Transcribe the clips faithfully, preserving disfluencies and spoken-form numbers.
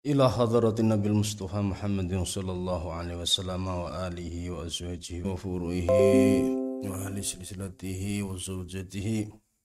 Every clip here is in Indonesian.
Ila hadratin Nabil Mustafa Muhammadin sallallahu alaihi wasallam wa alihi wa azwajihi wa furu'ihi wa ahli silsilatihi wa zawjatihi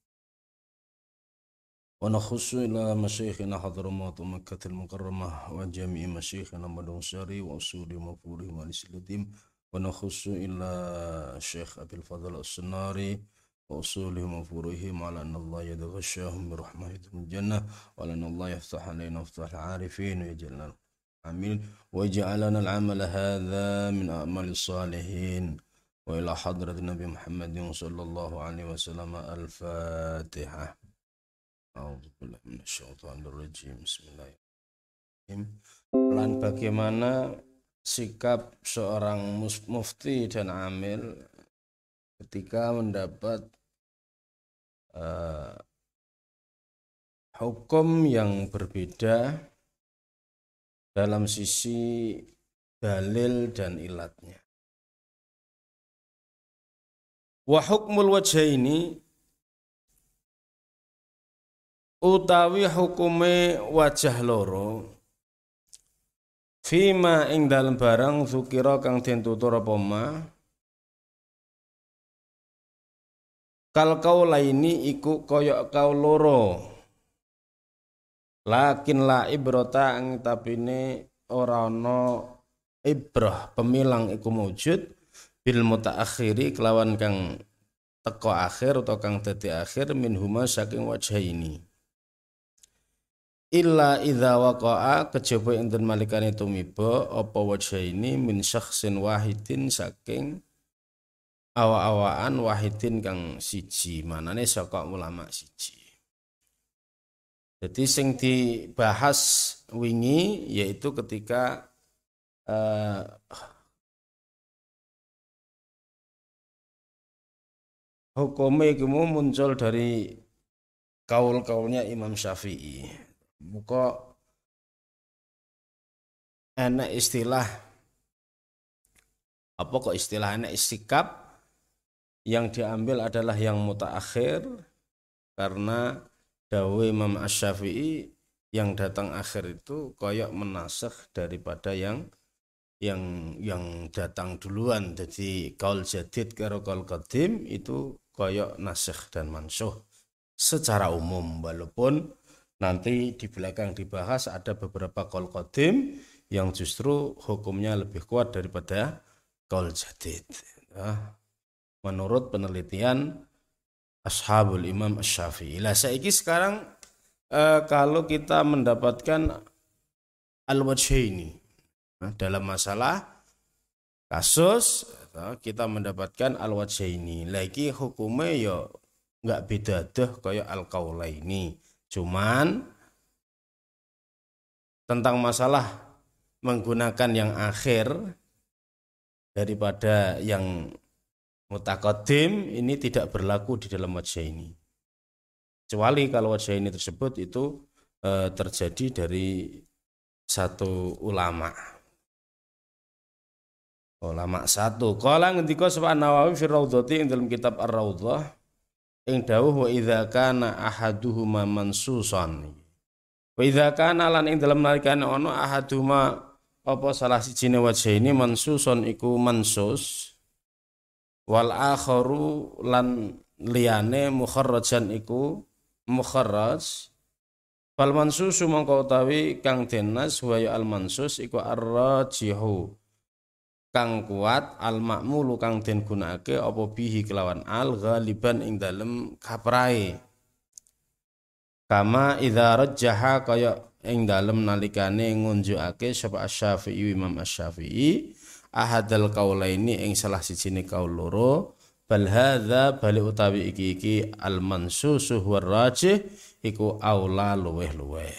wa nakhussu ila masyayikhina hadramat Makkah al-Mukarramah wa jami'i masyayikhina Madun Syari wa usuli mafuri wa silsilatihim wa nakhussu ila Syekh Abil Fadl As-Sunnari wa usulihim wa furu'ihim ala anna Allah yadghashahum bi rahmatil jannah wa ala anna Allah yaftah alaina iftah al-arifin wa yaj'alna amin wa yaj'alana al-amal hadha min a'mal salihin wa ila hadrat Nabi Muhammadin sallallahu alaihi wasallam al-Fatihah. A'udzu billahi minasyaitonir rajim. Bismillahirrahmanirrahim. Lan bagaimana sikap seorang mufti dan amil ketika mendapat uh, hukum yang berbeda dalam sisi dalil dan ilatnya. Wa hukmul wajhaini utawi hukume wajah loro fima ing dalem barang zukira kang den tutur apa ma kal kaulaini iku kaya kau loro lakin la ibrata ang tapine ora ana ibrah pemilang iku mujud bil mutaakhiri kelawan kang teko akhir atau kang dadi akhir minhuma saking wajhaini illa idza waqa'a kejaba enten malikane tumiba apa wajhaini min syakhsin wahidin saking awa-awaan wahidin kang siji, manane saka ulama siji. Jadi sing dibahas wingi yaitu ketika uh, hukume iku muncul dari kaul-kaulnya Imam Syafi'i. Muka enak istilah apa kok istilah enak sikap yang diambil adalah yang mutaakhir karena dawuh Imam Asy-Syafi'i yang datang akhir itu koyok menasakh daripada yang yang yang datang duluan. Jadi kaul jadid karo kaul qadim itu koyok nasikh dan mansuh secara umum, walaupun nanti di belakang dibahas ada beberapa kaul qadim yang justru hukumnya lebih kuat daripada kaul jadid. Nah, menurut penelitian Ashabul Imam Asy-Syafi'i. Lah saiki sekarang eh, kalau kita mendapatkan al-wajhaini nah, dalam masalah kasus kita mendapatkan al-wajhaini. Lagi hukumnya ya enggak beda deh kayak al-qaulaini. Cuman tentang masalah menggunakan yang akhir daripada yang mutaqaddim ini tidak berlaku di dalam wajhaini. Kecuali kalau wajhaini tersebut itu e, terjadi dari satu ulama. Ulama satu. Qala ngendika sapa Nawawi fi Raudhati ing dalam kitab Ar-Raudhah ing dawuh wa idza kana ahaduhuma mansusan. Wa idza kana lan ing dalam nalikane ana ahaduhuma apa salah sijine wajhaini mansuson iku mansus wal akharu lan liyane mukharrajan iku mukharraj fal mansusu mongko utawi kang denas wa ya al mansus iku ar-rajihu kang kuat al ma'mulu kang den gunakake apa bihi kelawan al ghaliban ing dalem kaprae kama idza rajjaha kaya ing dalem nalikane ngunjukake sapa Asy-Syafi'i Imam Asy-Syafi'i ahadal qaulaini ing salah sijine kaul loro bal hadza bali utawi iki iki al mansusu war rajih iku aula luweh-luweh.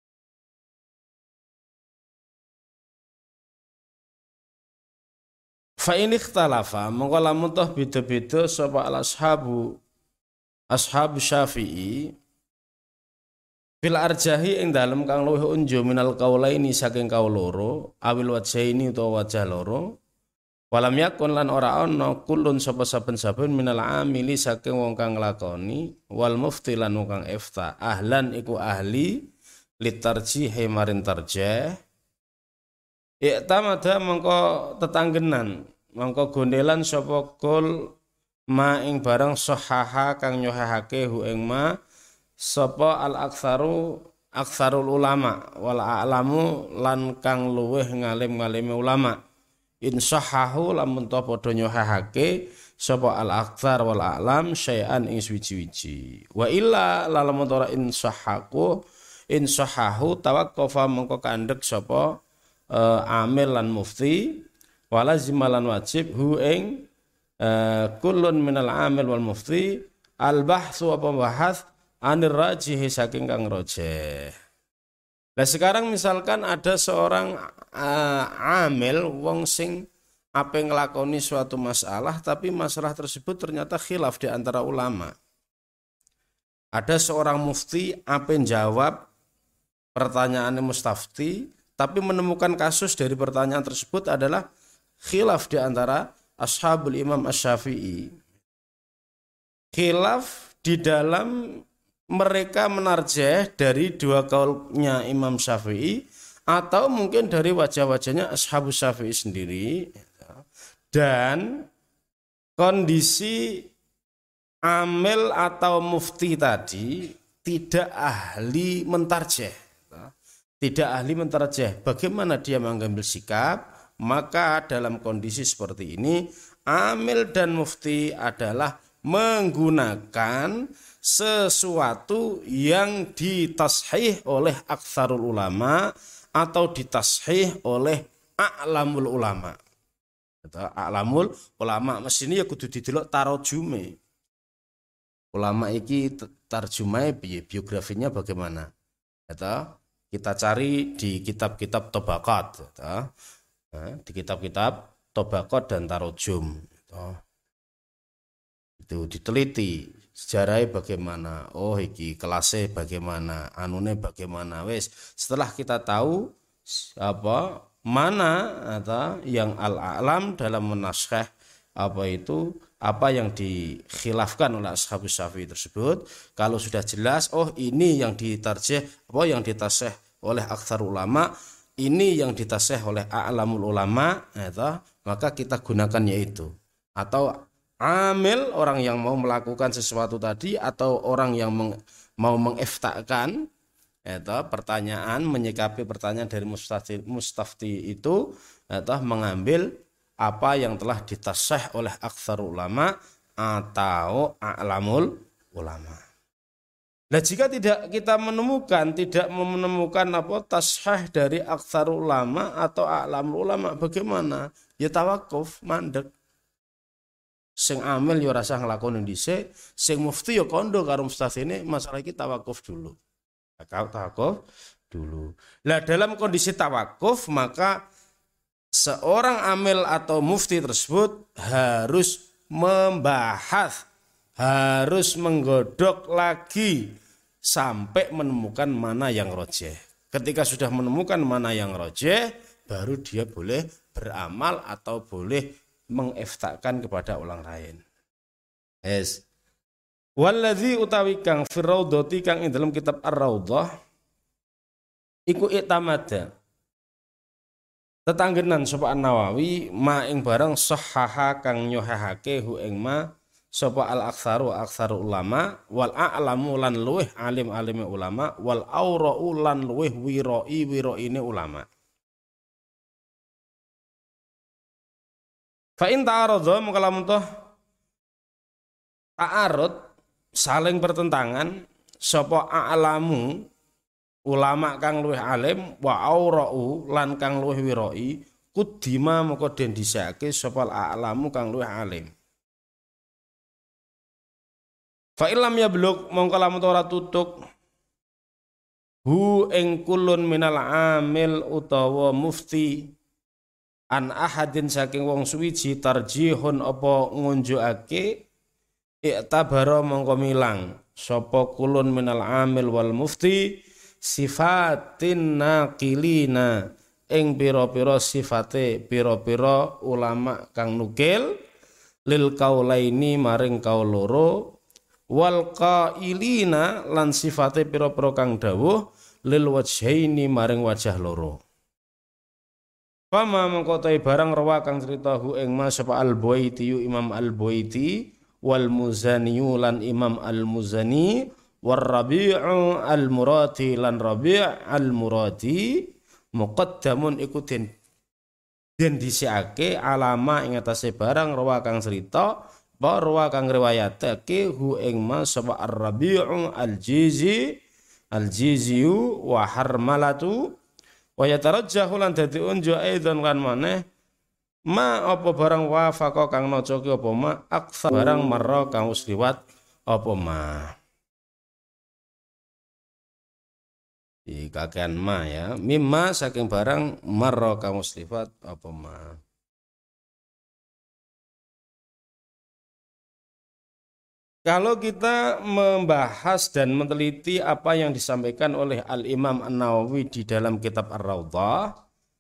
Fa in ikhtalafa mongko lamun toh beda-beda sapa al ashabu ashab Syafi'i fil arjahi ing dalem kang luwih unju minal qaulaini saking kaul loro awil wajhaini utawa wajah loro walam yakun lan ora ana kulun sapa saben-saben minal amili saking wong kang nglakoni wal mufti lan wong kang ifta ahlan iku ahli litarjihi marin tarjih i'tamada mengko tetanggenan mengko gondelan sapa kul ma ing barang sahaha kang nyohahake hu ing ma sapa al aktsaru aktsarul ulama wal a'lamu lan kang luweh ngalim-ngalime ulama in sahahu lamun ta padha nyohahake sapa al aktsar wal a'lam syai'an ing suwi-wiji wa illa lamun ora in sahaku in sahahu tawaqqafa mengko kandhek sapa Uh, amil lan mufti walazim lan wajib hu ing uh, kullun minal amil wal mufti al bahsu apa bahas anir rajih saking kang rajih. Nah sekarang misalkan ada seorang uh, amil wong sing ape nglakoni suatu masalah tapi masalah tersebut ternyata khilaf di antara ulama. Ada seorang mufti ape jawab pertanyaannya mustafti tapi menemukan kasus dari pertanyaan tersebut adalah khilaf di antara ashabul Imam Asy-Syafi'i. Khilaf di dalam mereka menarjih dari dua kaulnya Imam Syafi'i atau mungkin dari wajah-wajahnya ashabus Syafi'i sendiri. Dan kondisi amil atau mufti tadi tidak ahli mentarjih. Tidak ahli mentarjih, bagaimana dia mengambil sikap? Maka dalam kondisi seperti ini amil dan mufti adalah menggunakan sesuatu yang ditashih oleh aktsarul ulama atau ditashih oleh a'lamul ulama. A'lamul ulama mesine ya kudu didelok tarojume. Ulama iki tarjumahe piye, biografinya bagaimana? Atau kita cari di kitab-kitab Tabaqat, di kitab-kitab Tabaqat dan Tarojum, itu diteliti sejarahnya bagaimana, oh iki kelasnya bagaimana, anune bagaimana, wes. Setelah kita tahu apa mana atau yang al-a'lam dalam menaskah apa itu apa yang dikhilafkan oleh ashabus Syafi'i tersebut, kalau sudah jelas oh ini yang ditarjih apa yang ditasih oleh aktsar ulama, ini yang ditasih oleh a'lamul ulama, ya, maka kita gunakan yaitu. Atau amil orang yang mau melakukan sesuatu tadi atau orang yang meng, mau mengiftakan ya, pertanyaan, menyikapi pertanyaan dari mustafti, mustafti itu ya, mengambil apa yang telah ditasih oleh aktsar ulama atau a'lamul ulama. Nah jika tidak kita menemukan tidak menemukan apa tasih dari aktsar ulama atau a'lamul ulama, bagaimana? Ya tawakuf, mandek. Sing amil ya rasa nglakoni dhisik, sing mufti ya kondo karo mustafti ini masalah iki tawakuf dulu. Tawakuf dulu. Nah dalam kondisi tawakuf maka seorang amil atau mufti tersebut harus membahas, harus menggodok lagi sampai menemukan mana yang rojeh. Ketika sudah menemukan mana yang rojeh, baru dia boleh beramal atau boleh mengiftakan kepada orang lain. Yes. Walladzi utawi kang fi raudhati kang ing dalam kitab Ar-Raudhah iku itamada tetanggenan sapa An-Nawawi ma ing barang sahaha kang nyohahake hu ing ma sapa al-aktsaru aktsaru ulama wal a'lamu lan luweh alim-alime ulama wal aura'u lan luweh wirai wiraine ulama. Fa in ta'arudha mongko lamun toh ta'arud saling bertentangan sapa a'lamu ulama kang luwih alim wa aura'u lan kang luwih wirai kudima moko den dhisike sapa a'lamu kang luwih alim. Fa illam yablug mongko lamun ora tutuk hu ing kulun minal amil utawa mufti an ahadin saking wong suwiji tarjihun apa ngunjukake i'tabara mongko milang sapa kulun minal amil wal mufti sifatin naqilina ing pira-pira sifate pira-pira ulama kang nukil lil kaulaini maring kaul loro wal qailina lan sifate pira-pira kang dawuh lil wajhaini maring wajah loro. Fama mengkotai barang rawa kang ceritahu ing ma sapa al-Buaiti Imam al-Buaiti wal Muzani lan Imam al-Muzani war Rabi'u al-Murati lan Rabi' al-Murati muqaddamun ikutin den disiake alama ing atase barang rawa kang cerita ba rawa kang riwayatake hu ing ma sapa ar-Rabi'u al-Jizi al-Jiziyu wa Harmalatu wa yatarajjahu lan dadi unjuk aidan kan maneh ma apa barang wafaqa kang naca ki apa ma aksa barang marra kang wis liwat apa ma iki kakean ma ya mimma saking barang marra kang wis liwat apa ma. Kalau kita membahas dan meneliti apa yang disampaikan oleh Al-Imam An-Nawawi di dalam kitab Ar-Raudhah,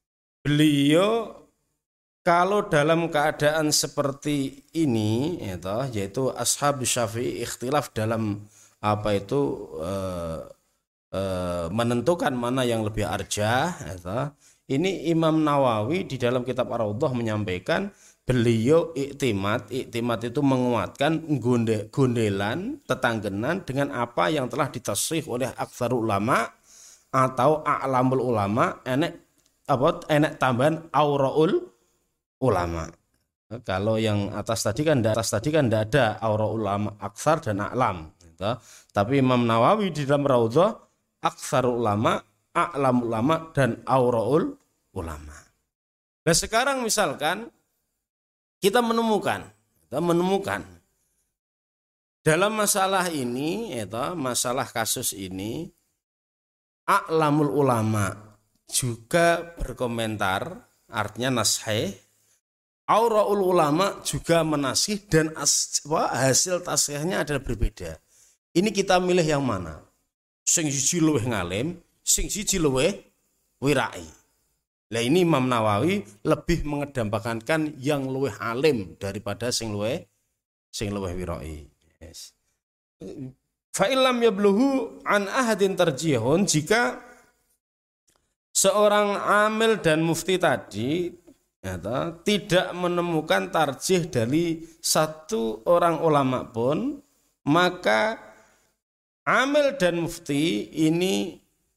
beliau kalau dalam keadaan seperti ini yaitu ashab Syafi'i ikhtilaf dalam apa itu eh, eh, menentukan mana yang lebih arjah, ini Imam Nawawi di dalam kitab Ar-Raudhah menyampaikan beliau iktimat, iktimat itu menguatkan gonde, gondelan, tetanggenan dengan apa yang telah ditasrih oleh aktsarul ulama atau a'lamul ulama, enek apa enek tambahan auraul ulama. Kalau yang atas tadi kan atas tadi kan tidak ada auraul ulama aktsar dan a'lam, gitu. Tapi Imam Nawawi di dalam Raudhah aktsarul ulama, a'lamul ulama dan auraul ulama. Nah sekarang misalkan kita menemukan, kita menemukan dalam masalah ini, itu masalah kasus ini, a'lamul ulama juga berkomentar, artinya nashih, auraul ulama juga menasih dan as, hasil tasihnya adalah berbeda. Ini kita milih yang mana? Sing siji luweh ngalim, sing siji luweh wirai. Lah ini Imam Nawawi lebih mengedepankan yang luweh alim daripada sing luweh sing luweh wirai. Yes. Fa illam yabluhu an ahadin tarjihun, jika seorang amil dan mufti tadi ya, tidak menemukan tarjih dari satu orang ulama pun, maka amil dan mufti ini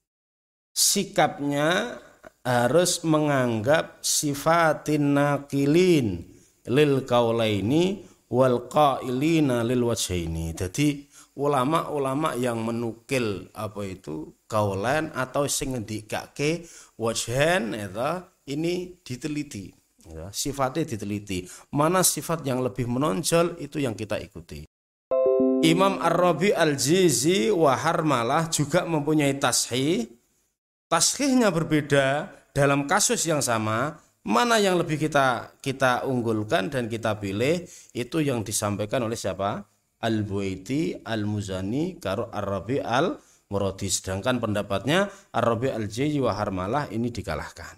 sikapnya harus menganggap sifatin naqilin lil qaulaini wal qailina lil wajhaini. Jadi ulama-ulama yang menukil apa itu qaulain atau sing ngendikake wajhan itu ini diteliti ya, sifatnya diteliti. Mana sifat yang lebih menonjol itu yang kita ikuti. Imam Ar-Rabi Al-Jizi wa Harmalah juga mempunyai tashih. Tashihnya berbeda dalam kasus yang sama, mana yang lebih kita kita unggulkan dan kita pilih itu yang disampaikan oleh siapa? Al-Buaiti, Al-Muzani, karo Ar-Rabi Al-Muradi. Sedangkan pendapatnya Ar-Rabi Al-Jizi wa Harmalah ini dikalahkan.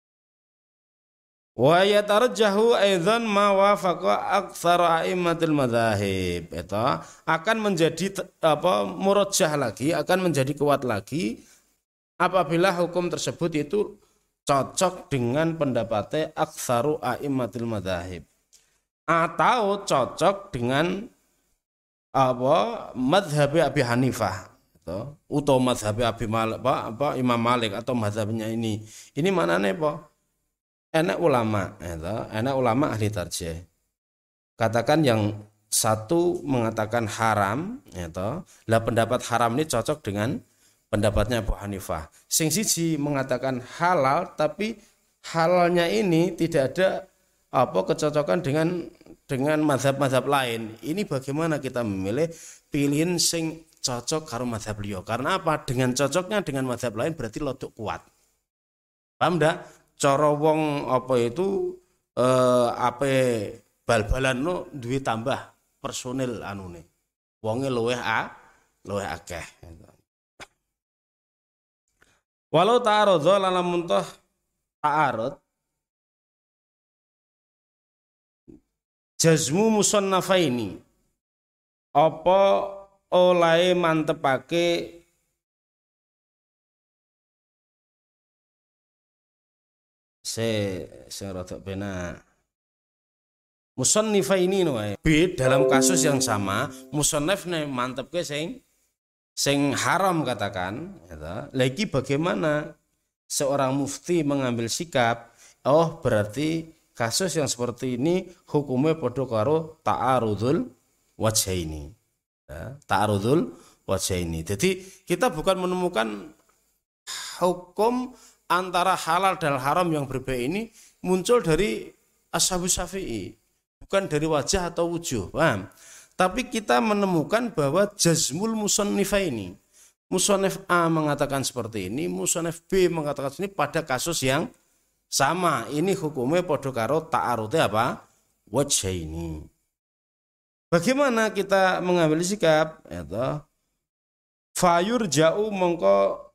Wa yatarajjahu aidzan ma wafaqa aktsara a'immatil madzahib. Itu akan menjadi apa murajjah lagi, akan menjadi kuat lagi apabila hukum tersebut itu cocok dengan pendapatnya aktsaru a'immatil madzahib atau cocok dengan apa mazhab Abi Hanifah atau atau mazhab Abi Malik apa, apa Imam Malik atau mazhabnya ini. Ini manane apa? Enak ulama, itu enak ulama ahli tarjih. Katakan yang satu mengatakan haram, itu lah pendapat haram ini cocok dengan pendapatnya Abu Hanifah. Sing siji mengatakan halal, tapi halalnya ini tidak ada apa kecocokan dengan dengan mazhab-mazhab lain. Ini bagaimana kita memilih pilihan sing cocok karo mazhab beliau? Karena apa? Dengan cocoknya dengan mazhab lain berarti lodok kuat. Paham ndak? Cara wong apa itu eh, apa bal-balan no duwe tambah personil anune. Wonge luweh a, luweh akeh. Walau ta'arudza lan muntah ta'arud jazmu musannafaini apa oleh mantepake se sing rada benak. Musannifaini wae. B dalam kasus yang sama, musannif ne mantepke sing sing haram katakan, gitu. Lagi bagaimana seorang mufti mengambil sikap? Oh, berarti kasus yang seperti ini hukumnya padha karo ta'arudul wajhaini. Ya, ta'arudul wajhaini. Jadi kita bukan menemukan hukum antara halal dan haram yang berbeda ini muncul dari Ashabus Syafi'i. Bukan dari wajah atau wujuh, paham? Tapi kita menemukan bahwa jazmul musannifaini. Musannif A mengatakan seperti ini, musannif B mengatakan ini pada kasus yang sama. Ini hukumnya padha karo ta'arudhe apa? Wajhaini. Bagaimana kita mengambil sikap? Eta fayur ja'u mongko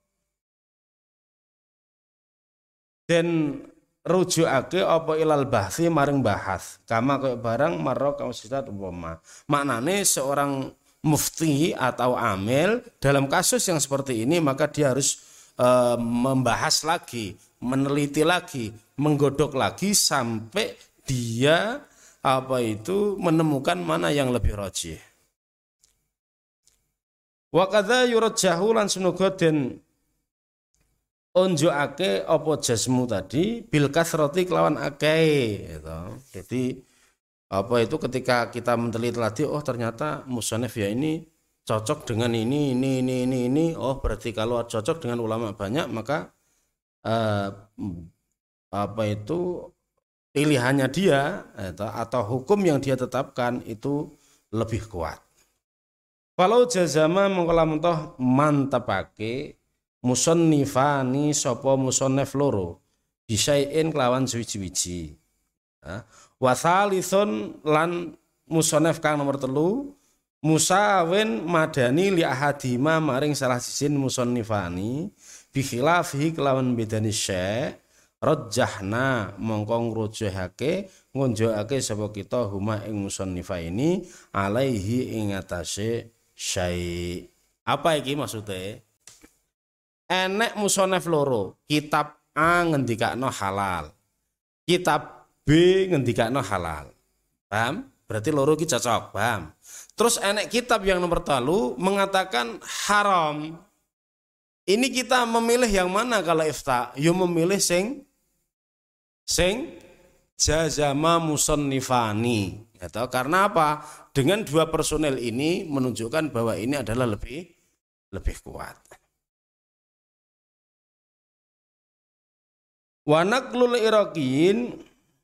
den rujukake apa ilal bahsi maring bahas kama kaya barang marra kausitat umpama. Maknane seorang mufti atau amil dalam kasus yang seperti ini maka dia harus e, membahas lagi, meneliti lagi, menggodok lagi sampai dia apa itu menemukan mana yang lebih rajih. Wa kadza yurajjahu lan sunuga den unjukake apa jasmu tadi bil kasrati kelawan akeh gitu. Jadi apa itu ketika kita meneliti lagi, oh ternyata musannif ya ini cocok dengan ini ini ini ini ini oh berarti kalau cocok dengan ulama banyak maka eh, apa itu pilihannya dia gitu, atau hukum yang dia tetapkan itu lebih kuat. Kalau jazama mengkolamun toh mantapake musannifani sapa musannif loro bisain kelawan suwi-wiji. Wa tsalithun lan musannif kang nomor telu musawin madani li ahadima maring salah sisin musannifani bi khilafihi kelawan bedani syekh rajjahna mongko ngrujuhake ngunjukake sapa kita huma ing musannifaini alaihi ing atase syai. Apa iki maksudnya? Enek musannif loro, kitab A ngendikakno halal, kitab B ngendikakno halal. Paham? Berarti loro iki cocok, paham? Terus enek kitab yang nomor telu mengatakan haram. Ini kita memilih yang mana kalau ifta? Yo memilih sing sing jazama musannifani. Gitu. Karena apa? Dengan dua personel ini menunjukkan bahwa ini adalah lebih lebih kuat. Wa naqlul iraqiyin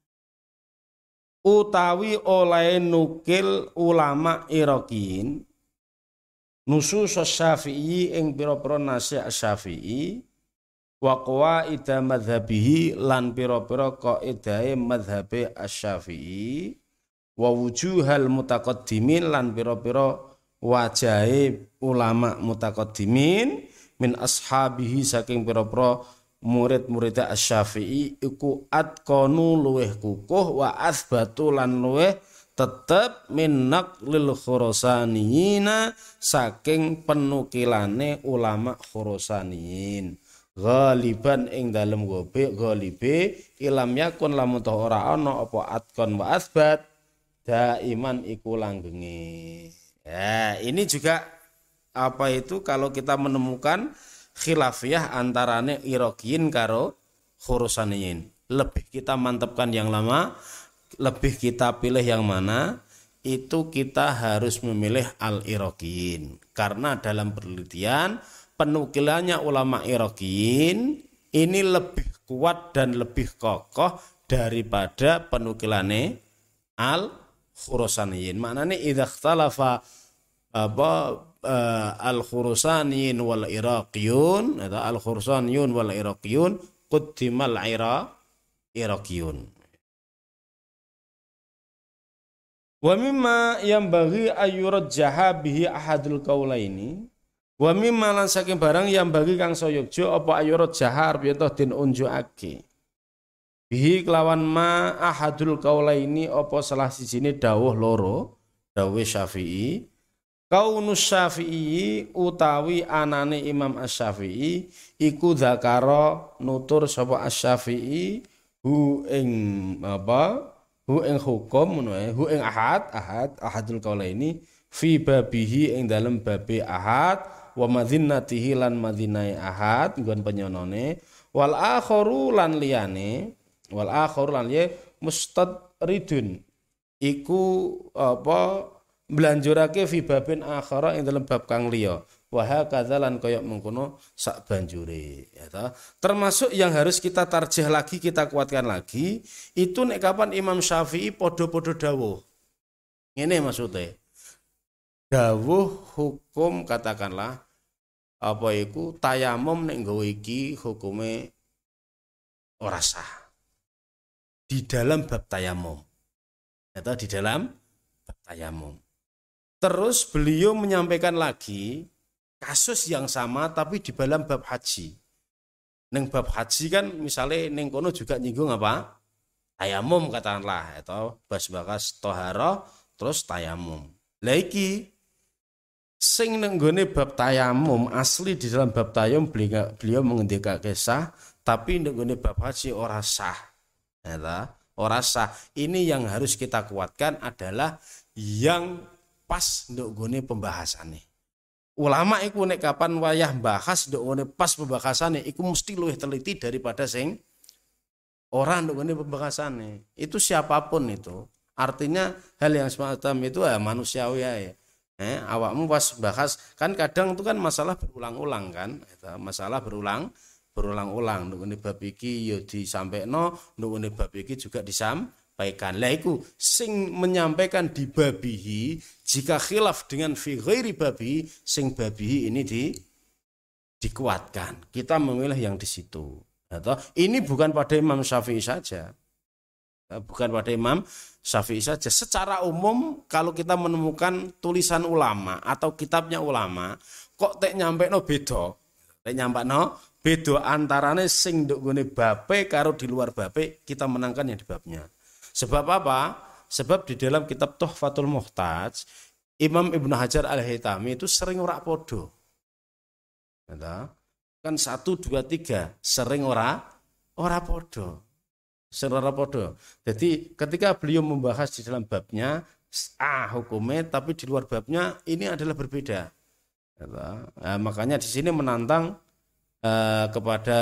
utawi oleh nukil ulama iraqiyin nusus Syafi'i ing pira-pira nasi Syafi'i wa qawaida madzhabihi lan pira-pira qaidahe madzhabe Asy-Syafi'i wa wujuhal mutaqaddimin lan pira-pira wajahe ulama mutaqaddimin min ashabihi saking pira-pira murid-murid Asy-Syafi'i iku atqanu luweh kukuh wa asbatu lan luweh tetep min naqlil khurasaniyina saking penukilane ulama khurasaniyin ghaliban ing dalem gobe ghalibe ilam yakun lamun ta ora ana apa atqan wa asbat daiman iku langgenge. Ya, ini juga apa itu kalau kita menemukan khilafiyah antarane Iraqiyin karo Khurasaniyin. Lebih kita mantapkan yang lama, lebih kita pilih yang mana? Itu kita harus memilih al-Iraqiyin. Karena dalam penelitian penukilannya ulama Iraqiyin ini lebih kuat dan lebih kokoh daripada penukilane al-Khurasaniyin. Maknanya idza ikhtalafa apa Uh, al-Khurasaniyin wal Iraqiyun atau al-Khurasaniyun wal Iraqiyun quddimal ira Iraqiyun. Wa mimma yanbaghi ayyurajjaha bihi ahadul qaulaini wa mimma lan saking barang yang bagi kang sayogja apa ayyurajjaha arep yen den unjukake bihi kelawan ma ahadul qaulaini apa salah sijine dawuh loro dawuh Syafi'i kaunus Syafi'i utawi anane Imam Asy-Syafi'i iku dzakara nutur sapa Asy-Syafi'i hu ing apa hu ing hukum ngono ae hu ing ahad ahad ahadul qaulaini fi babihi ing dalem babe ahad wa madzinatihi lan madzinai ahad nggon penyonone wal akharu lan liyane wal akharu lan ye mustadridun iku apa mblanjurake fi babin akhara ing dalem bab kang liya wa hakadza lan kaya mengkono sak banjure ya ta. Termasuk yang harus kita tarjih lagi, kita kuatkan lagi itu nek kapan Imam Syafi'i padha-padha dawuh ngene maksudnya dawuh hukum katakanlah apa iku tayamum nek nggawa iki hukume ora sah di dalam bab tayamum atau di dalam bab tayamum. Terus beliau menyampaikan lagi kasus yang sama tapi di dalam bab haji. Neng bab haji kan misalnya neng kono juga nyinggung apa? Tayamum katakanlah atau bas bakas toharo terus tayamum. Lah iki sing neng gone bab tayamum asli di dalam bab tayamum beliau, beliau mengendikake sah tapi neng gone bab haji ora sah. Ya, ora sah. Ini yang harus kita kuatkan adalah yang pas nduk gone pembahasannya. Ulama iku nek kapan wayah bahas nduk gone pas pembahasannya iku mesti luwih teliti daripada sing ora nduk gone pembahasannya. Itu siapapun itu. Artinya hal yang semacam itu ya manusiawi ya. Eh, awakmu pas bahas kan kadang itu kan masalah berulang-ulang kan, itu masalah berulang berulang-ulang. Nduk gone bab iki ya disampaikno, nduk gone bab iki juga disam Baikkan. Lah iku sing menyampaikan di babihi jika khilaf dengan fi ghairi babihi sing babihi ini di dikuatkan. Kita memilih yang di situ. Atau ini bukan pada Imam Syafi'i saja. Bukan pada Imam Syafi'i saja. Secara umum kalau kita menemukan tulisan ulama atau kitabnya ulama kok tek nyampe no beda. Tek nyampe no beda antarane sing nduk gone bape karo di luar bape kita menangkan yang di babnya. Sebab apa? Sebab di dalam kitab Tuhfatul Muhtaj, Imam Ibnu Hajar Al-Haytami itu sering ora podo. Kan satu, dua, tiga, sering ora ora podo. Sering ora podo. Jadi ketika beliau membahas di dalam babnya, ah hukumnya, tapi di luar babnya ini adalah berbeda. Nah, makanya di sini menantang uh, kepada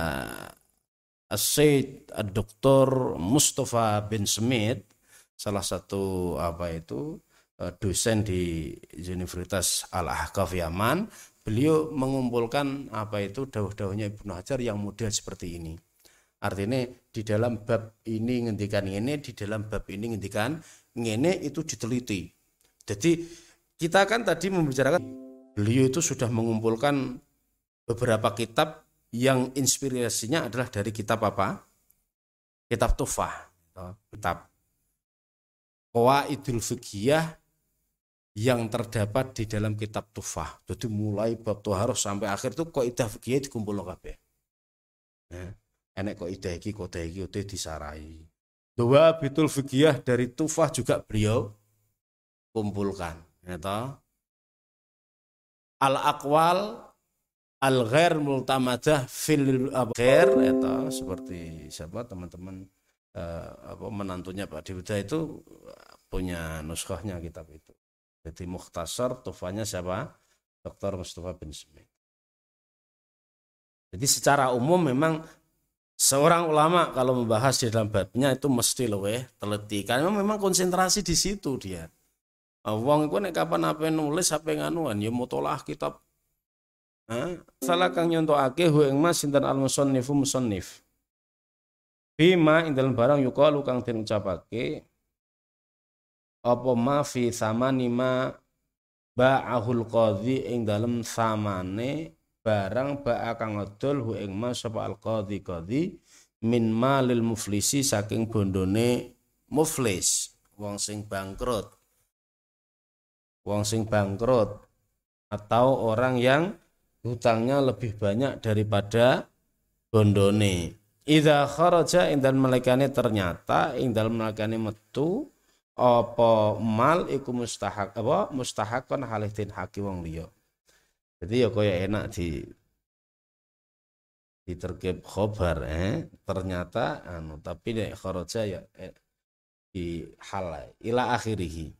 Sayyid Doktor Mustafa bin Smith, salah satu apa itu dosen di Universitas Al-Ahqaf Yaman, beliau mengumpulkan apa itu dawuh-dawuhnya Ibnu Hajar yang model seperti ini. Artinya di dalam bab ini ngendikan ini, di dalam bab ini ngendikan ngene itu diteliti. Jadi kita kan tadi membicarakan beliau itu sudah mengumpulkan beberapa kitab yang inspirasinya adalah dari kitab apa? Kitab Tuhfah, kitab Qawaidul Fiqhiyah yang terdapat di dalam kitab Tuhfah. Jadi mulai bab Thaharah sampai akhir itu kaidah fikih dikumpulno kabeh. Nah, enek kaidah iki, kaidah iki udah disarai. Dua bitul fikih dari Tuhfah juga beliau kumpulkan, ya toh. Al-aqwal al-ghair multamadah fil ghair itu seperti siapa teman-teman eh, apa menantunya Pak Diwida itu punya nuskahnya kitab itu. Jadi mukhtasar Tuhfahnya siapa? Doktor Mustafa bin Smith. Jadi secara umum memang seorang ulama kalau membahas di dalam babnya itu mesti luweh teliti karena memang konsentrasi di situ dia. Wong iku nek kapan ape nulis ape nganuan ya mutolaah kitab. Nah, salah kang nyontokake hu ing mas sinten al-musannifu musannif. Bima ing dalem barang yuqalu kang den ucapake apa ma fi samani ma ba'ahul qadhi ing dalem samane barang ba'a kang ngedol hu ing mas sapa al-qadhi qadhi min malil muflisi saking bondone muflis, wong sing bangkrut. Wong sing bangkrut atau orang yang hutangnya lebih banyak daripada bondone. Idza kharaja ing dalem melekane ternyata ing dalem melekane metu apa mal iku mustahak apa mustahakon halih den haki wong liya. Jadi ya kaya enak di diterkib khobar eh ternyata anu tapi nek kharaja ya eh, di hal ila akhirih.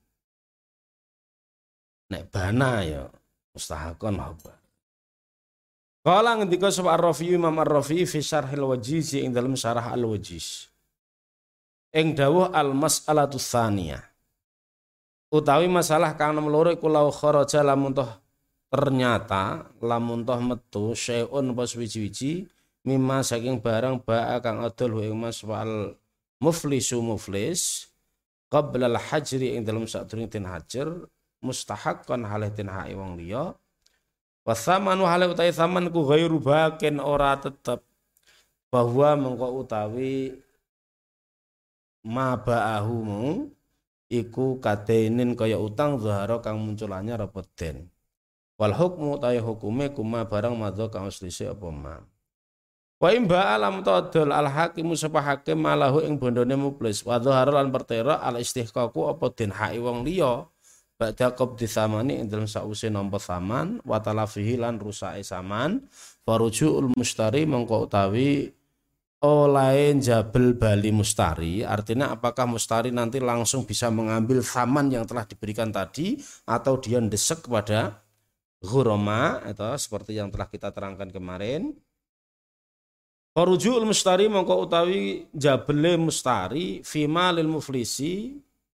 Nek bana ya mustahakon khobar. Kala ngendika sapa Ar-Rafi Imam Ar-Rafi fi Syarhil Wajiz ing dalam Syarah Al-Wajiz. Ing dawuh al-mas'alatu tsaniyah. Utawi masalah kang nomor loro iku lau kharaja lamun toh ternyata lamun toh metu syai'un apa suwi-wiji mimma saking barang ba'a kang adol ing mas wal muflisu muflis qabla al-hajri ing dalam sadurunge den hajar mustahaqqan halih den hak wong liya. Wasamanu hale utawi saman ku ghairu bakin ora tetep bahwa mengko utawi ma ba'ahu iku kadenin kaya utang zahara kang munculannya repeten. Wal hukmu utawi hukume kuma barang madza kang uslise apa ma. Wa imba alam tadul al hakimu sapa hakim malahu ing bondone muflis wa zahara lan pertera al istihqaqu apa den hak wong liya. Ba'da qabdi tsamani ing dalem sause nampa saman wa talafihi lan rusake saman farujuul mustari mengko utawi oleh jabel bali mustari, artinya apakah mustari nanti langsung bisa mengambil saman yang telah diberikan tadi atau dia ndesek kepada ghurama atau seperti yang telah kita terangkan kemarin. Farujuul mustari mengko utawi jabele mustari fima lil muflisi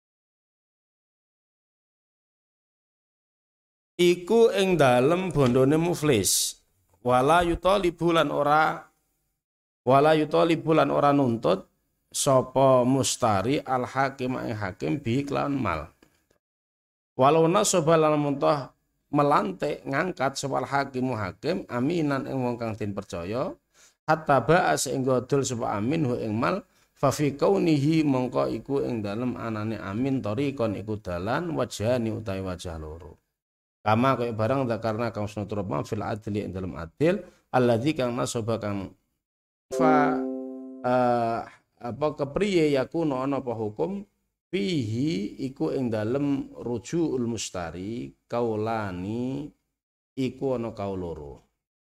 iku ing dalem bondone muflis wala yutalibu lan ora wala yutalibu lan ora nuntut sapa mustari al hakim ing hakim bi kelawan mal walau nasaba lan muntah melantik ngangkat sapa al hakimu hakim aminan ing wong kang den percaya hatta ba'a sehingga dol sapa amin hu ing mal fa fi kaunihi mongko iku ing dalem anane amin tariqon iku dalan wajhani utawi wajah loro. Kama kaya barang karena kang sunatur ma fil adli ing dalam adil alladzi kang nasaba kang fa uh, apa kepriye yakuno ana apa hukum fihi iku ing dalem rujuul mustari kaulani iku ana kaul loro.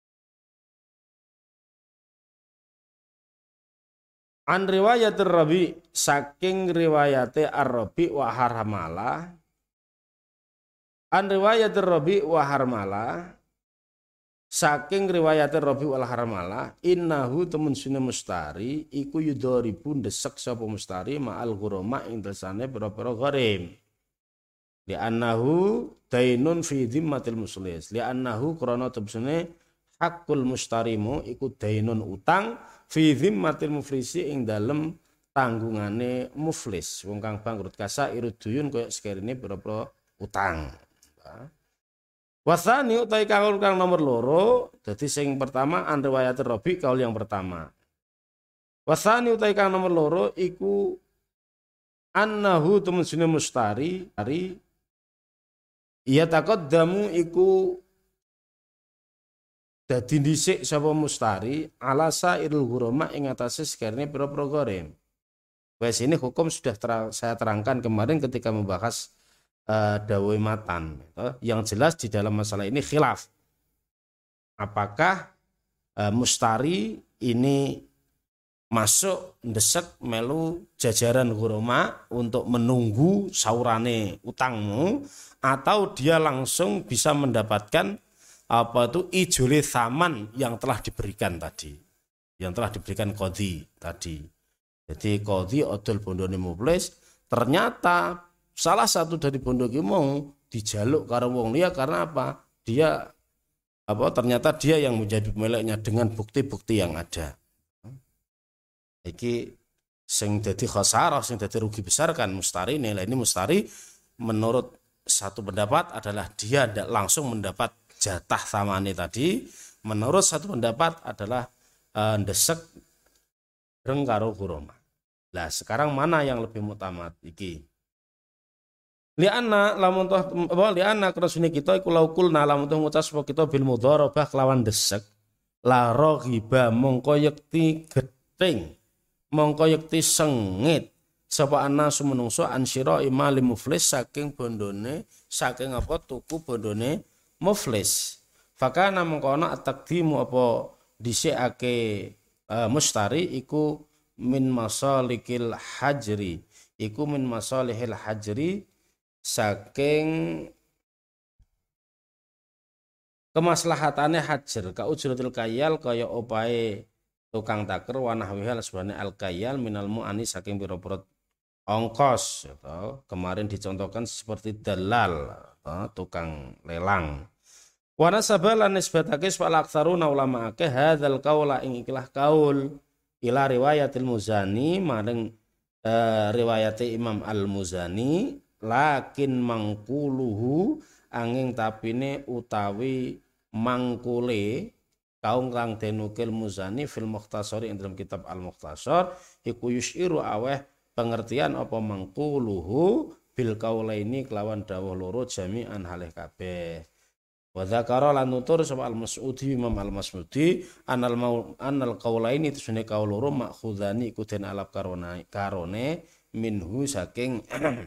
An riwayatir Rabi saking riwayate Ar-Rabi wa Harmala An riwayat Rabi wa Harmala saking riwayat Rabi wal Harmala innahu temen sune mustari iku yudharibu ndesek sapa mustari ma'al ghurama ing desane pira-pira gharim li annahu dainun fi dhimmatil muslis li annahu krana tebsene hakul mustarimu iku dainun utang fi dhimmatil muflisi ing dalem tanggungane muflis wong kang bangkrut kasa iruduyun kaya sekerine pira-pira utang. Wasani utai kaul kang nomor loro, jadi sing pertama an riwayat Rabi kaul yang pertama. Wasani utai kang nomor loro iku annahu temen sune mustari ari iya taqaddamu iku dadi dhisik sapa mustari ala sairul ghurama ing atase sekarene pira-pira gharim. Wes ini hukum sudah terang, saya terangkan kemarin ketika membahas Uh, dawai matan gitu. Yang jelas di dalam masalah ini khilaf apakah uh, mustari ini masuk ndesek melu jajaran ghurama untuk menunggu saurane utangmu atau dia langsung bisa mendapatkan apa itu ijole saman yang telah diberikan tadi yang telah diberikan qadhi tadi. Jadi qadhi odol bondone muflis ternyata salah satu dari bondo ki mau dijaluk karo wong liya karena apa? Dia apa ternyata dia yang menjadi pemiliknya dengan bukti-bukti yang ada. Iki sing dadi khasarah, sing dadi rugi besar kan mustari. Nilai ini mustari menurut satu pendapat adalah dia langsung mendapat jatah samane tadi. Menurut satu pendapat adalah uh, ndesek reng karo ghurama. Lah sekarang mana yang lebih mutamat iki? Lianna lamun toh apa lianna krasune kita iku laukulna lamun toh ngucap sapa kita bil mudharabah kelawan desek la raghiba mongko yekti gething mongko yekti sengit sapa ana sumenungso ansyira imali muflis saking bondone saking apa tuku bondone muflis fakana mongko ana at-taqdimu apa dhisikake uh, mustari iku min masalikil hajri, iku min masalihil hajri saking kemaslahatane hajar ka ujratil kayal kaya opae tukang taker wanah wihal sebenarnya al kayal minal mu'ani saking pira-pira ongkos atau kemarin dicontohkan seperti dalal atau tukang lelang. Wana sabalan nisbatake wal aktsaruna ulama akeh hadzal qaula ing ikilah kaul ila riwayatil Muzani maring eh, riwayate Imam Al-Muzani lakin mangkuluhu angin tapine utawi mangkule kaung kang denukil Muzani fil Mukhtasari ing dalam kitab Al-Mukhtasar iku yusyiru aweh pengertian apa mangkuluhu bil kaulaini kelawan dawuh loro jami'an halih kabeh. Wa dzakara lan nutur sapa Al-Mas'udi Imam Al-Mas'udi anal mau anal kaulaini tusune kaul loro makhudani iku den alap karone karone minhu saking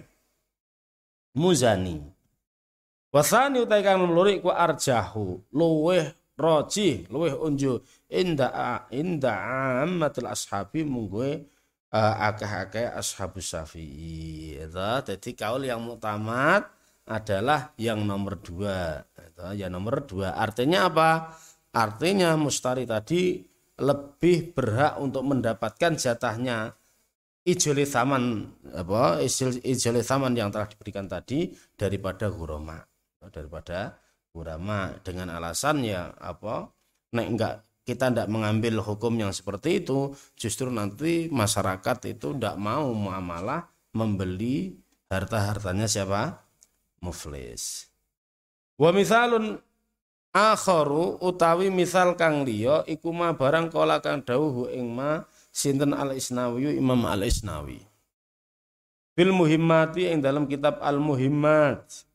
Muzani. Wasani utai kang loro iku arjahu luweh roji luweh unju inda inda ammatul ashabi mungguhe uh, akeh-akeh ashabus syafi'i. Jadi kaul yang muktamad adalah yang nomor dua. Yang nomor dua artinya apa? Artinya mustari tadi lebih berhak untuk mendapatkan jatahnya ijoli thaman apa ijoli thaman yang telah diberikan tadi daripada ghurama daripada ghurama dengan alasan ya apa nek enggak kita tidak mengambil hukum yang seperti itu justru nanti masyarakat itu tidak mau muamalah membeli harta-hartanya siapa muflis. Wa mithalun akharu utawi misal kang liya iku ma barang kala kang dawuh ing ma sinten Al-Isnawi Imam Al-Isnawi bil muhimmati ing dalam kitab Al-Muhimmat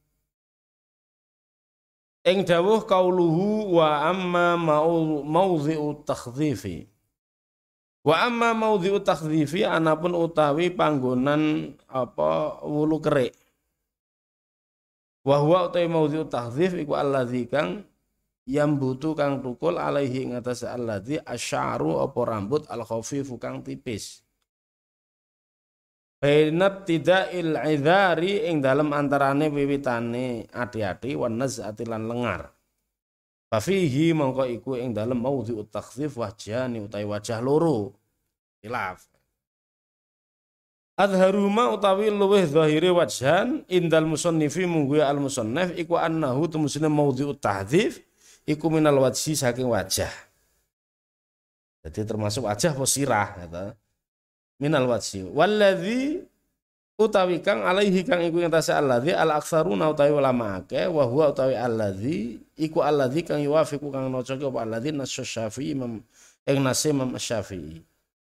ing dawuh qauluhu wa amma mawdhi'u takhdhifi wa amma mawdhi'u takhdhifi anapun utawi panggonan apa wulu kerik wa huwa utawi mawdhi'u takhdhif iku alladzi kang yang butuh kang tukul alaihi ing atas alladzi asy'aru apa rambut al khafifu kang tipis bainat tida'il idhari ing dalam antarane wiwitane ati-ati wan naz'ati lan lengar. Fa fihi mongko iku ing dalam maudhi'ut takhdhif wajhani utawi wajah loro. Khilaf. Adharuma utawi luweh zahire wajhan indal musannifi munggu al musannif iku annahu tumusine maudhi'ut tahdhif iku minal wajhi saking wajah. Jadi termasuk wajah posirah kata. Minal wajhi walladzi utawi kang alaihi kang iku ing tasa alladzi al aktsaruna utawi ulama akeh wa huwa utawi alladzi iku alladzi kang yuwafiqu kang nocoke apa alladzi nasu Syafi'i imam ing nase Imam Syafi'i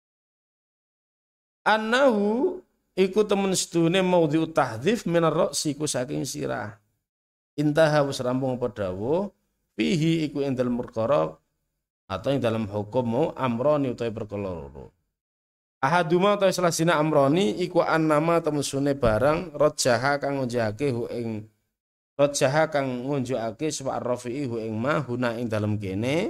annahu iku temen sedune maudhi'ut tahdhif minar ra'si iku saking sirah intaha wis rampung apa dawuh fihi iku ing dalem perkara atau ing dalam hukum amroni utawi perkara loro. Ahaduma utawi salah sina amroni iku annama temusune barang rajaha kang ngunjukake hu ing rajaha kang ngunjukake sapa ar-rafi'i hu ing ma huna ing dalem kene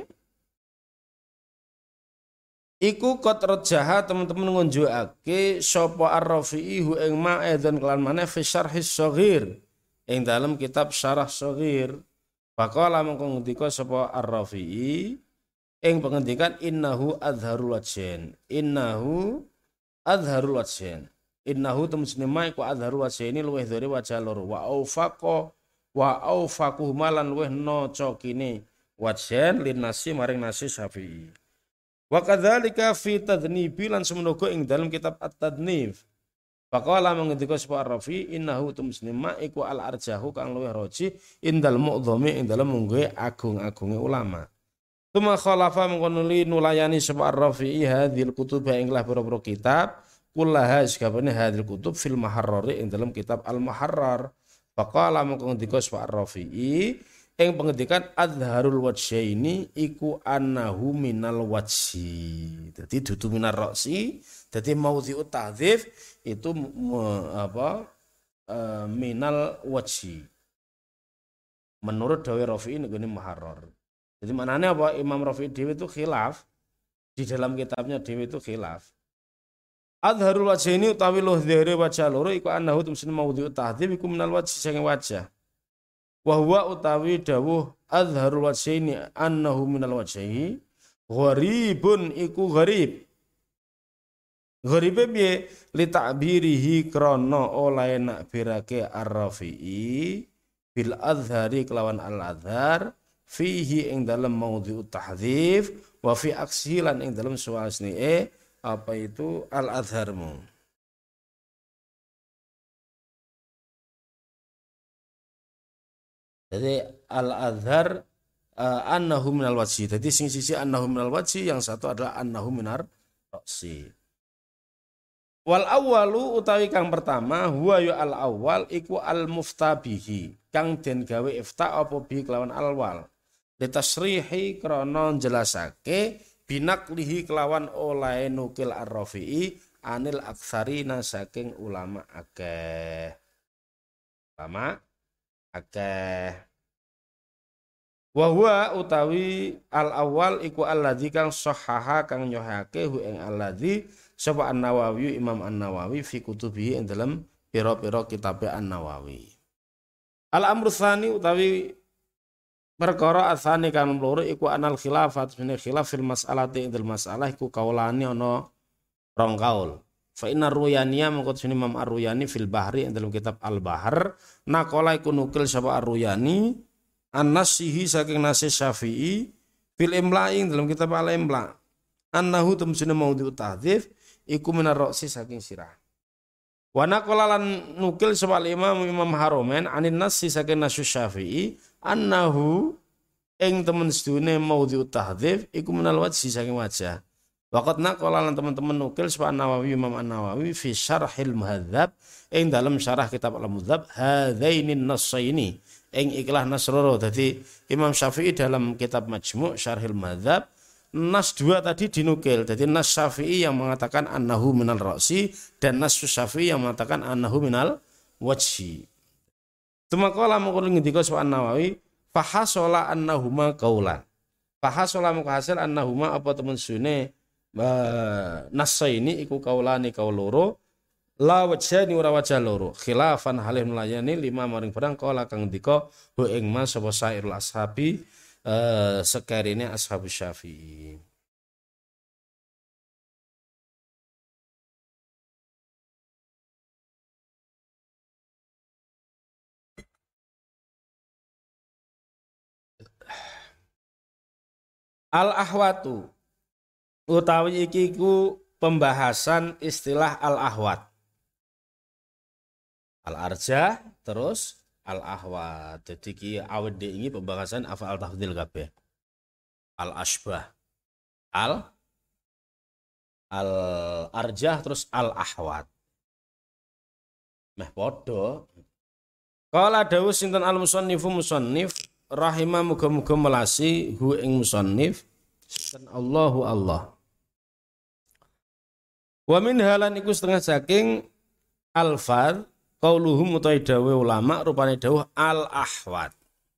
iku kot rajaha teman-teman ngunjukake sapa ar-rafi'i hu ing ma adzan kelan maneh fi syarhis shaghir ing dalem kitab syarah shaghir faqala mongko ngendika sapa ar-rafi'i ing pengendikan innahu adharul wajhain innahu adharul wajhain innahu temusne ma iku adharul wajhaini luweh dhari wajah loro wa aufaqa wa aufaquh malan luweh nocokine wajhain linnasi maring nasi Syafi'i wa kadzalika fi tadnibi lan semenaga ing dalam kitab at-tadnif faqala mengendika sapa ar-rafi innahu temusne ma iku al-arjahu kang luweh roji indal mu'dhami ing dalam mungguhe agung-agunge ulama. Tuma khalafa mengkonuli nulayani sapa ar-rafi'i hadhil kutub ing lah pira-pira kitab kullaha sakabehane hadhil kutub fil maharrari ing dalam kitab al-muharrar faqala mengko ngendika sapa ar-rafi'i ing pengendikan adharul wajhaini iku annahu minal wajhi dadi dudu minar ra'si dadi maudhi'ut tahdhif itu apa e, minal wajhi menurut dawe rafi'i ngene muharrar. Jadi maknanya apa? Imam Rafi'i dhewe itu khilaf di dalam kitabnya dhewe itu khilaf. Adharul wajhaini utawi luh dhahire wajah loro iku annahu tumsin maudhi'ut tahdhib iku minal wajh saking wajah. Wa huwa utawi dawuh adharul wajhaini annahu minal wajhi gharibun iku gharib. Gharibe piye li ta'birihi krana oleh nakbirake ar-Rafi'i bil adhari kelawan al-adhar fihi ing dalam maudhi'ut tahdhif wa fi aksihi lan ing dalam suasni e apa itu al-adharmu. Jadi al-adhar uh, annahu minal wajhi. Jadi sing sisi annahu minal wajhi, yang satu adalah annahu minar ra'si. Wal awwalu utawi kang pertama huwa yu al awwal iku al muftabihi kang den gawe ifta apa bi kelawan alwal litasrihi krana jelasake binaklihi kelawan oleh nukil ar-Rafi'i anil aktsarina saking ulama akeh ulama akeh wa huwa utawi al awwal iku alladzi kang sahaha kang nyohake hu ing alladzi sapa An-Nawawi Imam An-Nawawi fi kutubihi ing dalam pira-pira kitab An-Nawawi. Al-amru tsani utawi perkara asane kan loro iku anal khilafat min khilaf fil mas'alati ing dalam masalah iku kaulane ana rong kaul. Fa inna ruyaniya mengko sini Imam Ar-Ruyani fil Bahri ing dalam kitab Al-Bahr naqala iku nukil sapa Ar-Ruyani an-nasihi saking nasi Syafi'i fil imla'i ing dalam kitab Al-Imla annahu tumsina maudhi'ut tahdhif iku minar roksi saking sirah. Wa naqala lan nukil sapa Imam Imam Haromen anin nasi saking nasu Syafi'i annahu ing temen sedune maudhi'ut tahdhif iku minal wajhi saking wajah. Waqat naqala lan teman-teman nukil sapa Nawawi Imam An-Nawawi fi syarhil muhadzab ing dalam syarah kitab Al-Muhadzab hadzainin nassaini ing ikhlas nasroro. Dadi Imam Syafi'i dalam kitab Majmu' Syarhil Muhadzab nas dua tadi dinukil. Jadi nas Syafi'i yang mengatakan annahu minal ra'si dan nas Syafi'i yang mengatakan annahu minal wajhi. Tumakala mengko ngendika sapa An-Nawawi fahasola annahuma qaulan. Fahasola mengko hasil annahuma apa temen sune nas ini iku kaulani kaul loro la wajhani ora wajah loro khilafan halih melayani lima maring barang kala kang ndika hu ing mas sapa sairul ashabi Uh, sekarine ashabus Syafi'i. Al-ahwatu utawi iki ku pembahasan istilah al-ahwat. Al-arjah terus al-ahwat. Jadi ki awet ini pembahasan afal tafdhil kabeh. Al-asbah. Al al-arjah terus al-ahwat. Meh padha. Qala dawu sinten al-musannifu musannif rahimah muga-muga melasi hu ing musannif sinten Allahu Allah. Wa min halan iku setengah saking al-fadh qauluhum utawi dawuh ulama rupane dawuh al-ahwat.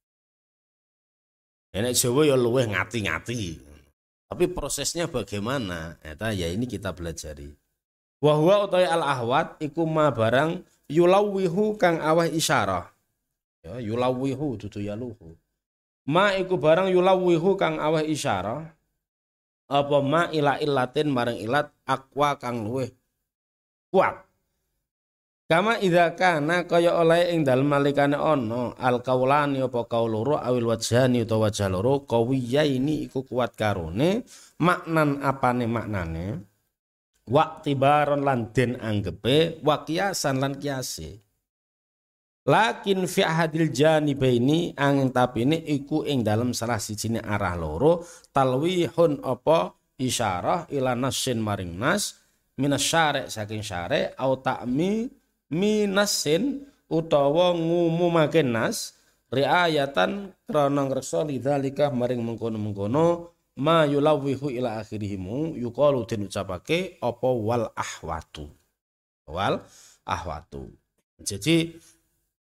Enek Jawa ya luweh ngati-ngati. Tapi prosesnya bagaimana? Eta ya ini kita pelajari. Wa huwa utawi al-ahwat iku ma barang yulawihu kang aweh isyarah. Ya yulawihu dudu yaluhu. Ma iku barang yulawihu kang aweh isyarah. Apa ma ila illatin marang ilat aqwa kang luweh kuat. Kama idza kana kaya oleh ing dalem nalikane ana al kaulani apa kaul loro awil wajhani utawa wajah loro qawiyaini iku kuat karone maknan apane maknane waqtibaron lan den anggepe wa qiyasan lan kiase lakin fi ahadil janibaini angin tapine iku ing dalem salah sijine arah loro talwihun apa isyarah ila nasin maring nas minasyare saking syare au ta'mi minasin utawa ngumumake nas riayatan krana ngreksa lidzalika maring mengkono-mengkono ma yulawihu ila akhirihimu yuqalu den ucapake apa wal ahwatu wal ahwatu. Jadi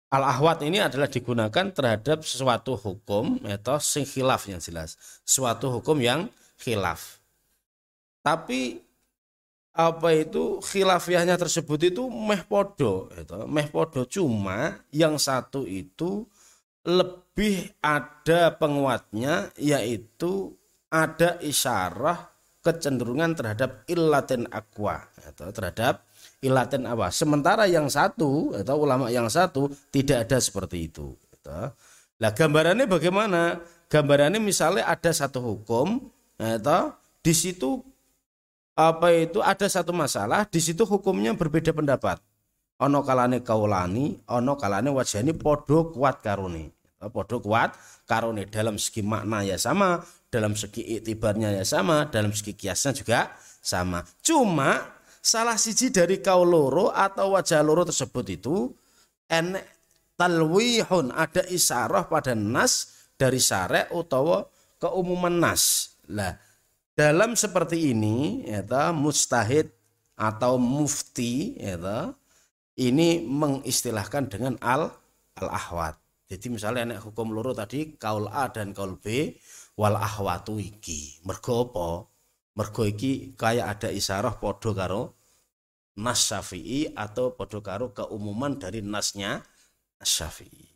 Al-ahwat ini adalah digunakan terhadap sesuatu hukum atau sing khilaf yang jelas. Suatu hukum yang khilaf. Tapi apa itu khilafiahnya tersebut itu meh podo, itu meh podo, cuma yang satu itu lebih ada penguatnya, yaitu ada isyarah kecenderungan terhadap illatin aqwa, atau terhadap illatin apa. Sementara yang satu atau ulama yang satu tidak ada seperti itu. Nah, gambarannya bagaimana? Gambarannya misalnya ada satu hukum, atau di situ apa itu ada satu masalah, di situ hukumnya berbeda pendapat. Ono kalane kaulani, ono kalane wajani podo kuat karone. Podo kuat karone dalam segi makna ya sama, dalam segi iktibarnya ya sama, dalam segi kiasnya juga sama. Cuma salah siji dari kaul loro atau wajah loro tersebut itu enek talwihun, ada isyarah pada nas dari syarek utawa keumuman nas. Lah, dalam seperti ini, yaitu mustahid atau mufti, yaitu ini mengistilahkan dengan al al ahwat. Jadi misalnya nek hukum loro tadi kaul A dan kaul B, wal ahwatu iki. Mergo apa? Mergo iki kayak ada isyarah podo karo nas Syafi'i atau podo karo keumuman dari nasnya Syafi'i.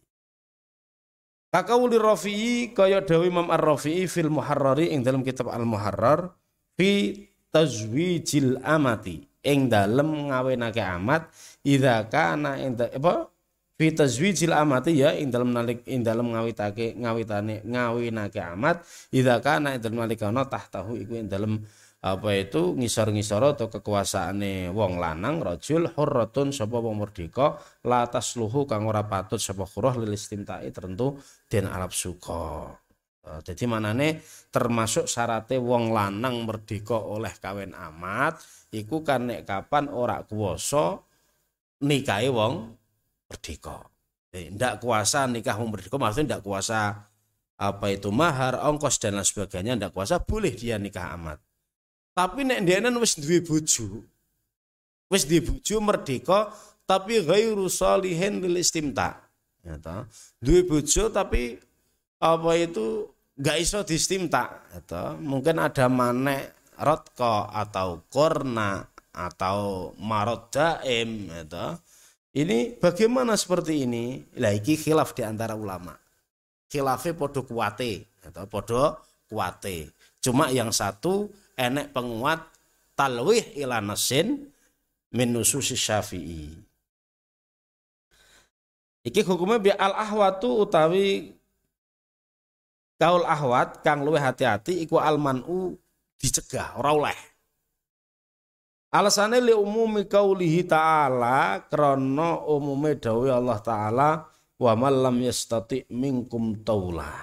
Kakauli Rafi'i kaya dawuh Imam Ar-Rafi'i fil Muharrari ing dalam kitab Al-Muharrar fi tazwijil amati ing dalem ngawinake amat idza kana ing apa fi tazwijil amati ya ing dalem nalik ing dalem ngawitake ngawitane ngawinake amat idza kana ing dalem nalikana tahtahu iku ing dalem apa itu ngisor-ngisor atau kekuasaane wong lanang rajul hurratun sapa wong merdeka la tasluhu kang ora patut sapa khurah lil istimta'i tertentu den arep suka. Jadi manane termasuk syaratnya wong lanang merdeka oleh kawin amat iku kan nek kapan ora kuwasa nikahi wong merdeka. Ndak kuasa nikah wong merdeka maksudnya ndak kuasa apa itu mahar, ongkos dan lain sebagainya, ndak kuasa boleh dia nikah amat. Tapi nek ndenen wis duwe bojo. Wis duwe bojo merdeka tapi ghairu shalihin lil istimta. Ya ta. Duwe bojo tapi apa itu enggak iso distimta, ya ta. Mungkin ada manek rotqa atau korna atau marot daim, ya ta. Ini bagaimana seperti ini? Lah iki khilaf di antara ulama. Khilafe podo kuwate, ya ta, podo kuwate. Cuma yang satu enek penguat talwih ila nasin min nususi Syafi'i. Iki hukumnya bi al ahwatu utawi kaul ahwat kang luwih hati-hati iku al man'u dicegah ora oleh. Alasane li umumi qaulihi ta'ala krana umume dawuh Allah taala wa man lam yastati minkum taula.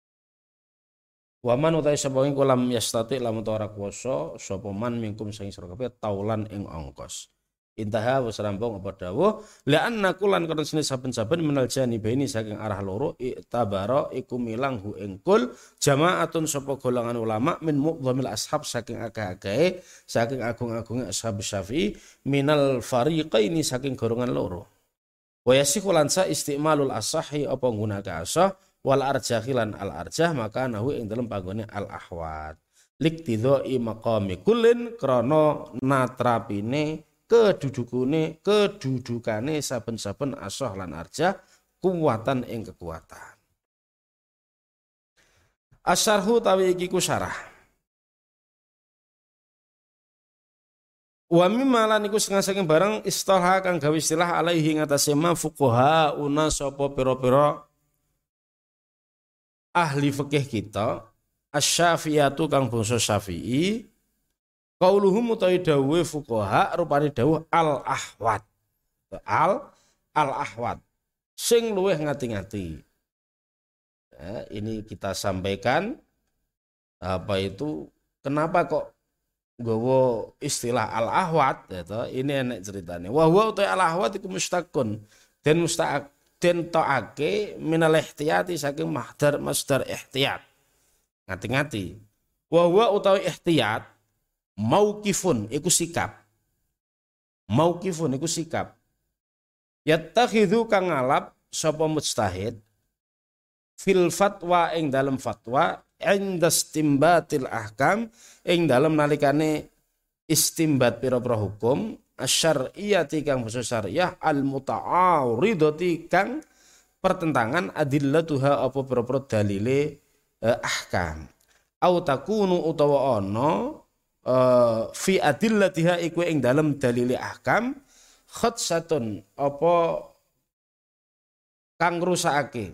Waman utai sapa ing kulam yastati lamun ora kuwasa sapa man mingkum sing sira kabeh taulan ing ongkos. Intaha wis rampung apa dawuh la anna kulan kana sene saben-saben minal janibaini saking arah loro itabara iku milang hu ing kul jamaatun sapa golongan ulama min muqdhamil ashab saking akeh-akeh saking agung-agunge ashab Syafi'i minal fariqaini saking golongan loro. Wa yasihu lan sa istimalul asahi apa nggunakake asah wal arjahilan al arjah maka nahu ing dalam panggone al ahwat liktidhai maqami kullin krana natrapine kedudukune kedudukane saben-saben asah lan arjah kuwatan ing kekuatan. Asyarhu tawi iki ku syarah. Wa mimma lan iku saking barang istalah kang gawe istilah alaihi ngatasé ma fuqaha una sapa pira-pira ahli fikih kita asy-Syafi'iyatu kang bangsa Syafi'i qauluhum utawi dawuhe fuqaha rupane dawuh al-ahwat al al-ahwat sing luwih ngati-ngati. Ya, ini kita sampaikan apa itu kenapa kok nggawa istilah al-ahwat ya ini enek ceritane wa huwa utawi al-ahwat iku mustaqun dan mustaq den ta'ake minal ihtiyati saking mahdar masdar ihtiyat. Ngati-ngati. Wa huwa utawi ihtiyat mauqifun iku sikap. Mauqifun iku sikap. Yattakhidhu kang ngalap sapa mujtahid fil fatwa ing dalam fatwa inda istimbatil ahkam ing dalam nalikane istimbat pira-pira hukum asyariyati kang basa syariah al muta'aridati kang pertentangan adillatuha apa pira-pira dalile eh, ahkam au takunu utawa ana eh, fi adillatiha iku ing dalam dalile ahkam khatsatun apa kang rusakake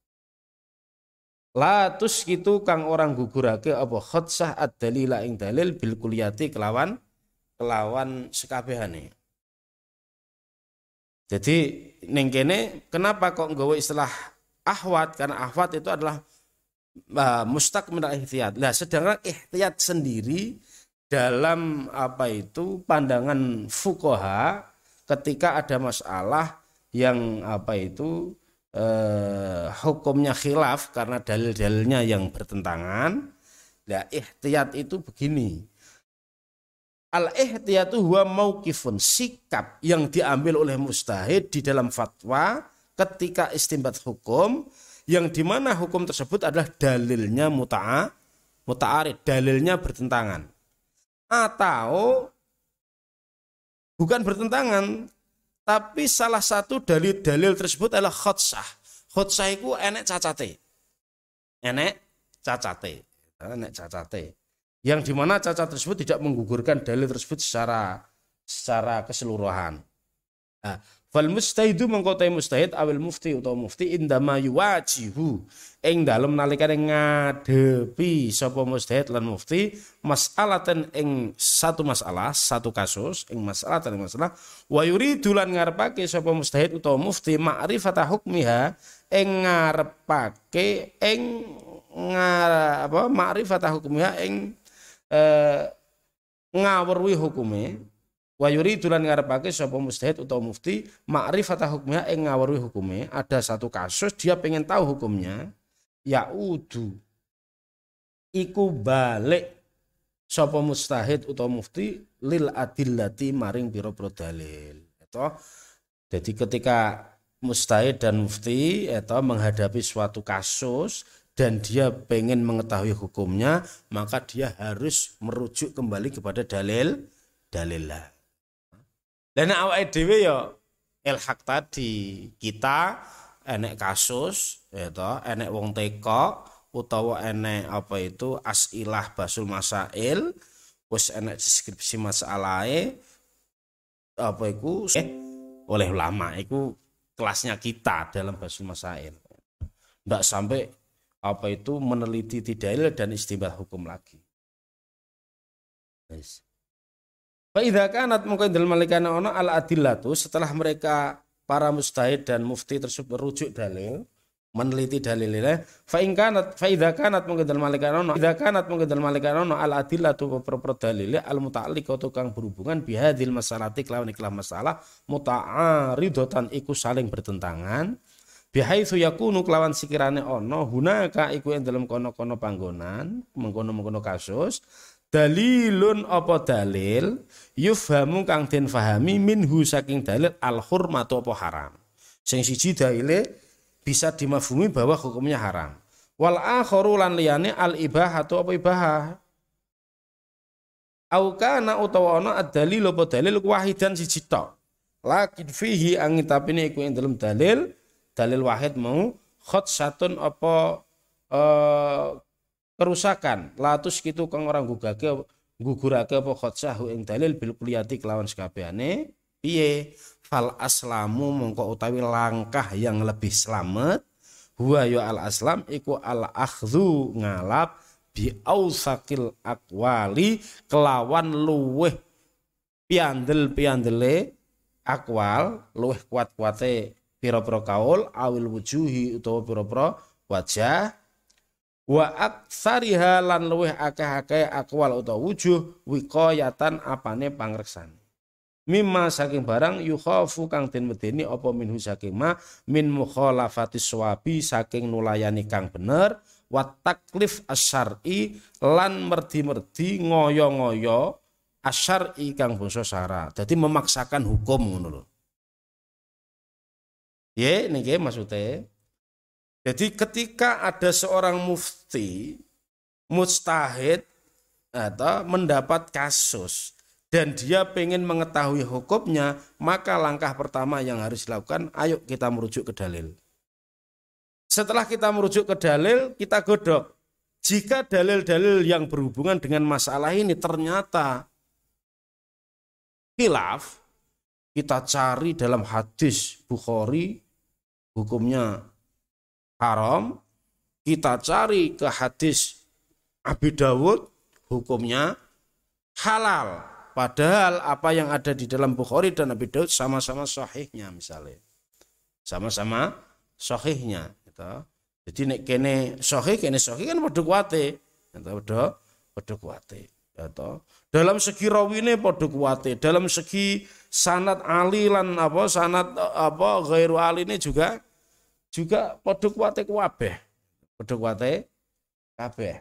la tusqitu kang orang gugurake apa khatsah ad-dalila ing dalil bil kulliyati kelawan kelawan sekabehane. Jadi ning kene kenapa kok nggawa istilah ahwat? Karena ahwat itu adalah uh, mustaq min al-ihtiyat. Lah sedangkan ihtiyat sendiri dalam apa itu pandangan fuqaha ketika ada masalah yang apa itu uh, hukumnya khilaf karena dalil-dalilnya yang bertentangan. Lah ihtiyat itu begini. Al-ihtiyatu huwa mauqifun, sikap yang diambil oleh mujtahid di dalam fatwa ketika istinbat hukum yang dimana hukum tersebut adalah dalilnya muta'a, muta'arid, dalilnya bertentangan. Atau bukan bertentangan, tapi salah satu dalil-dalil tersebut adalah khotsah. Khotsah itu enek cacate. Enek cacate. Enek cacate. Yang dimana cacat tersebut tidak menggugurkan dalil tersebut secara secara keseluruhan. Nah, fal mustahidu mengkotai mustahid awil mufti atau mufti indama yuwajihu ing dalem nalikane ngadepi sapa mustahid lan mufti mas'alatan ing satu masalah, satu kasus ing masalah dan masalah wa yuridu lan ngarepake sapa mustahid utawa mufti ma'rifata hukmiha ing ngarepake ing ngar apa ma'rifata hukmiha ing Eh, ngawruhi hukume wa yuridu lan ngarepake sapa mujtahid utawa mufti ma'rifata hukmiha ing ngawruhi hukume. Ada satu kasus dia pengen tahu hukumnya, yaudu iku balik sapa mujtahid utawa mufti lil adillati maring pira-pira dalil. Itu jadi ketika mujtahid dan mufti itu menghadapi suatu kasus dan dia pengen mengetahui hukumnya, maka dia harus merujuk kembali kepada dalil dalillah. Dan awake dhewe ya ilhaq tadi, kita enek kasus itu enek wong teko utawa enek apa itu asilah basul masail, wis enek deskripsi masalahe apa iku eh, oleh ulama iku kelasnya kita dalam basul masail. Ndak sampai apa itu meneliti dalil dan istimbat hukum lagi. Yes. Fa idza kanat mungkin dalam malikana ono al adillatu, setelah mereka para mujtahid dan mufti tersebut merujuk dalil, meneliti dalilnya, fa in kanat fa idza kanat mungkin dalam malikana ono idza kanat mungkin dalam malikana ono al adillatu beberapa dalil al muta'alliqatu kang berhubungan bihadil masalati kelawan ikhlas masalah muta'aridatan iku saling bertentangan. Bihaitsu yakunu kelawan sikirane ono hunaka iku ing dalem kono-kono panggonan mengkono-mengkono kasus dalilun apa dalil yufhamu kang den fahami minhu saking dalil al hurmatu apa haram. Sing siji dalile bisa dimafhumi bahwa hukumnya haram. Wal akharu lan liyane al ibahatu apa ibahah. Au kana utawa ana ad-dalil apa dalil wahidan siji tok. Lakin fihi angin tapine iku ing dalem dalil dalil wahid mau khotsatun apa uh, kerusakan latus gitu kang orang gugake gugurake apa khotsahu ing dalil bil kulliyati kelawan sekabehane piye fal aslamu mongko utawi langkah yang lebih selamat huwa ya al aslam iku al akhdhu ngalap bi ausakil aqwali kelawan luweh piandel-piandele akwal luweh kuat-kuate pira-pira kaul awil wujuhi utawa pira-pira wajah wa aktsariha lan luweh akeh-akeh akwal utawa wujuh wiqayatan apane pangreksan mimma saking barang yukhafu kang den medeni apa minhu saking ma min mukhalafatis sawabi saking nulayani kang bener wa taklif asyar'i lan merdi-merdi ngoyo-ngoyo asyar'i kang basa syara. Dadi memaksakan hukum ngono lho. Ya niki maksudnya. Jadi ketika ada seorang mufti mujtahid atau mendapat kasus dan dia pengen mengetahui hukumnya, maka langkah pertama yang harus dilakukan, ayo kita merujuk ke dalil. Setelah kita merujuk ke dalil, kita godok. Jika dalil-dalil yang berhubungan dengan masalah ini ternyata khilaf, kita cari dalam hadis Bukhari hukumnya haram, kita cari ke hadis Abi Dawud hukumnya halal. Padahal apa yang ada di dalam Bukhari dan Abi Dawud sama-sama sahihnya misalnya. Sama-sama sahihnya gitu. Jadi nek kene sahih kene sahih kan padha kuwate. Gitu, padha padha kuwate. Gitu. Dalam segi rawine padha kuwate, dalam segi sanad ali lan apa sanad apa ghairu aline juga juga padha kuwate kabeh. Padha kuwate kabeh.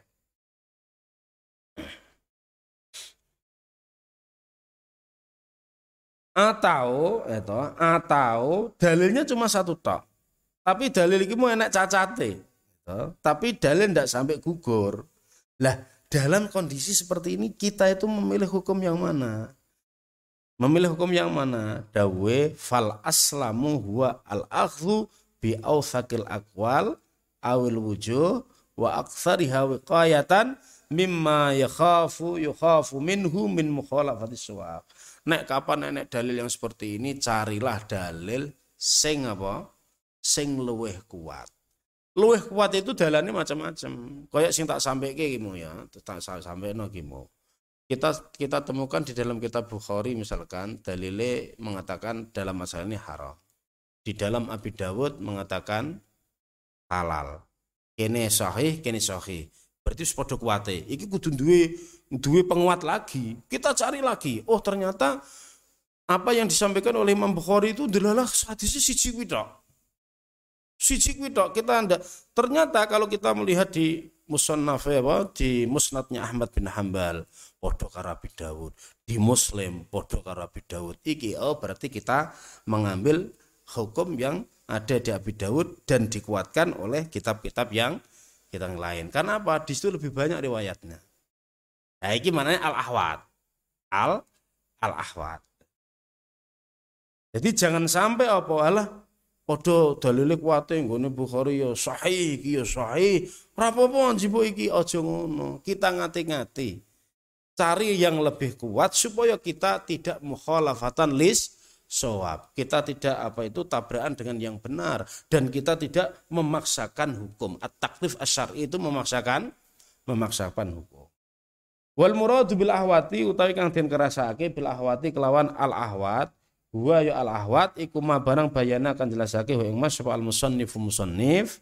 Atau itu atau dalilnya cuma satu tok. Tapi dalil iki mau enak cacate. Gitu. Tapi dalil ndak sampai gugur. Lah, dalam kondisi seperti ini kita itu memilih hukum yang mana? Memilih hukum yang mana? Dawe fal aslamu huwa al akhdhu bi awthaqil aqwal awil wujuh wa aktsariha wiqayatan mimma yakhafu yukhafu minhu min mukhalafatis suwab. Nek kapan nek dalil yang seperti ini, carilah dalil sing apa? Sing luweh kuat. Luweh kuat itu dalane macam-macam. Kayak sing tak sampeke iki ya, tak sampeno iki mau. Kita kita temukan di dalam kitab Bukhari misalkan dalile mengatakan dalam masalah ini haram. Di dalam Abi Dawud mengatakan halal. Kene sahih, kene sahih. Berarti wis padha kuwate. Iki kudu duwe duwe penguat lagi. Kita cari lagi. Oh, ternyata apa yang disampaikan oleh Imam Bukhari itu adalah hadisnya siji kuwi tok. Siji kuwi tok. Kita ndak ternyata kalau kita melihat di Musannaf apa di Musnadnya Ahmad bin Hambal padha karo Abi Dawud, di Muslim padha karo Abi Dawud. Iki oh berarti kita mengambil hukum yang ada di Abi Dawud dan dikuatkan oleh kitab-kitab yang kita yang lain. Karena apa? Di situ lebih banyak riwayatnya. Nah, ini maknanya al-ahwat. Al al-ahwat. Jadi jangan sampai apa alah padha dalile kuwate nggone Bukhari ya sahih iki ya sahih. Ora apa-apa njipuk iki aja ngono. Kita ngati-ngati. Cari yang lebih kuat supaya kita tidak mukhalafatan lis shawab. Kita tidak apa itu tabrakan dengan yang benar dan kita tidak memaksakan hukum. At-taklif asy-syar'i itu memaksakan memaksakan hukum. Wal muradu bil ahwati utawi kang den kerasake bil ahwati kelawan al ahwat huwa ya al ahwat iku ma barang bayana kan jelasake ing mas sapa al musannif musannif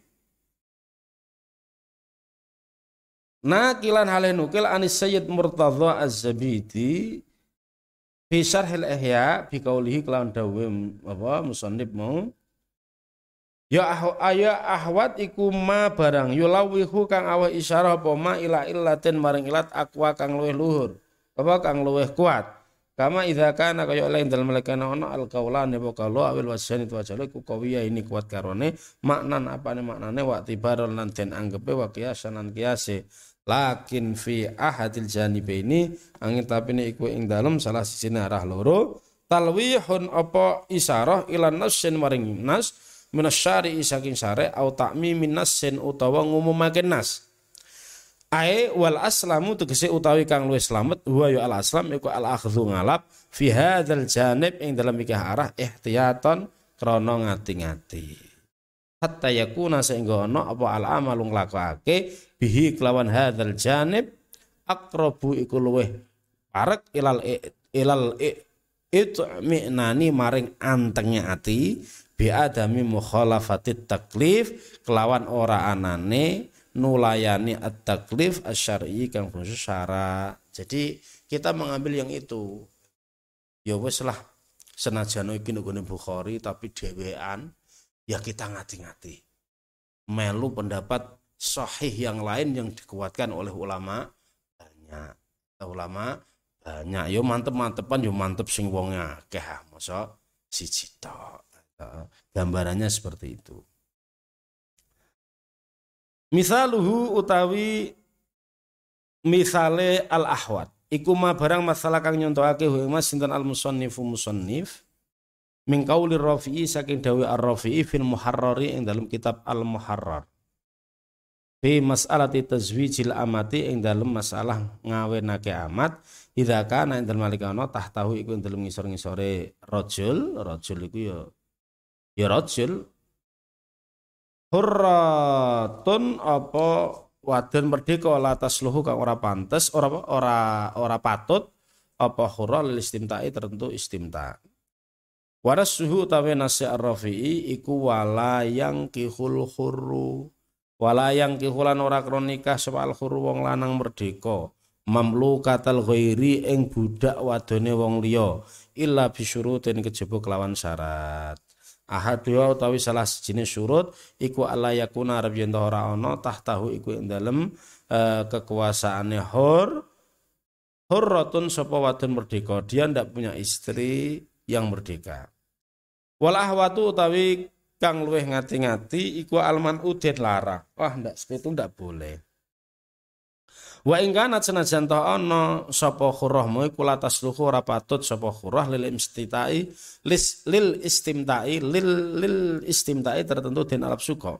nakilan hale nukil anis Sayyid Murtadha Az-Zabidi fi syarhil ihya bi qaulihi kelawan dawe apa musannif mau ya aya ahwat iku ma barang yulawihu kang aweh isyarah apa ma ila illatin maring ilat aqwa kang luwih luhur apa kang luwih kuat kama idza kana kaya lain dalem lekana ana al qaulan apa kalau awil wasan itu aja iku kawiya ini kuat karone maknan apane maknane wa tibaron lan den anggepe wa qiyasan lan qiyase lakin fi ahadil janibaini angin tapine iku ing dalem salah siji arah loro talwihun apa isyarah ilan nasin maring nas minasyari saking syare au ta'mi minnasin utawa ngumumake nas ae wal aslamu tegese utawi kang luwih slamet huwa ya al aslam iku al akhdhu ngalap fi hadzal janib ing dalam iki arah ihtiyatan krana ngati-ngati hatta yakuna sehingga ana apa al amalu nglakokake bihi kelawan hadzal janib aqrabu iku luwih parek ilal ilal itu minani maring antenge ati bi adami mukhalafatit taklif kelawan ora anane nulayani at-taklif asy-syar'i kang khusus syarat. Jadi kita mengambil yang itu. Ya wis lah senajan iki nggone Bukhari tapi dhewean ya kita ngati-ngati. Melu pendapat sahih yang lain yang dikuatkan oleh ulama banyak. Ulama banyak yo mantep-mantepan yo mantep sing wonge akeh masa siji tok. Gambarannya seperti itu. Misaluhu utawi misale al ahwat iku ma barang masalah kang nyontohake humas sinten al musannifu musannif min qauli rafi'i saking dawe ar-rafi'i fil muharrari ing dalam kitab al muharrar fi mas'alati tazwijil amati ing dalam masalah ngawenake amat idza kana ing dalem malikana tahtahu iku ing dalam ngisor-ngisore rajul rajul iku ya ya rajul hurratun apa wadon merdeka la tasluhu kang ora pantes ora ora ora patut apa hurra lil istimta'i tertentu istimta. Waras suhu utawi nasi ar-rafi'i iku wala yang kihul hurru wala yang kihulan ora kronikah sapa al hurru wong lanang merdeka mamlukatal ghairi ing budak wadone wong liya illa bisyurutin kejaba kelawan syarat. Ahadua utawi salah sejenis syurut iku alla yakuna arep yen ora ana tahtahu iku ing dalem e, kekuasaane hur hurratun sapa wadon merdeka, dia ndak punya istri yang merdeka. Wal ahwatu utawi kang luweh ngati-ngati iku alman udin larang. Wah ndak seperti itu ndak boleh. Wa ing kana senajan ta ana sapa khurrahmu iku latas luhu ora patut sapa khurrah lil istimta'i lis lil istimta'i lil lil istimta'i tertentu den alap suka.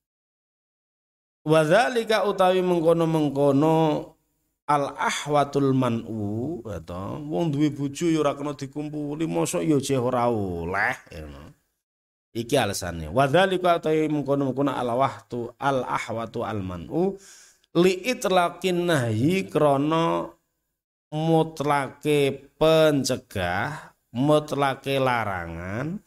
Wa dzalika utawi mengkono-mengkono al ahwatul man'u atau wong duwe bojo ya ora kena dikumpuli mosok ya jeh ora oleh ngono. Iki alasane. Wa dzalika utawi mengkono-mengkono al wahtu al ahwatu al man'u li'itlaqin nahyi krana mutlake pencegah mutlake larangan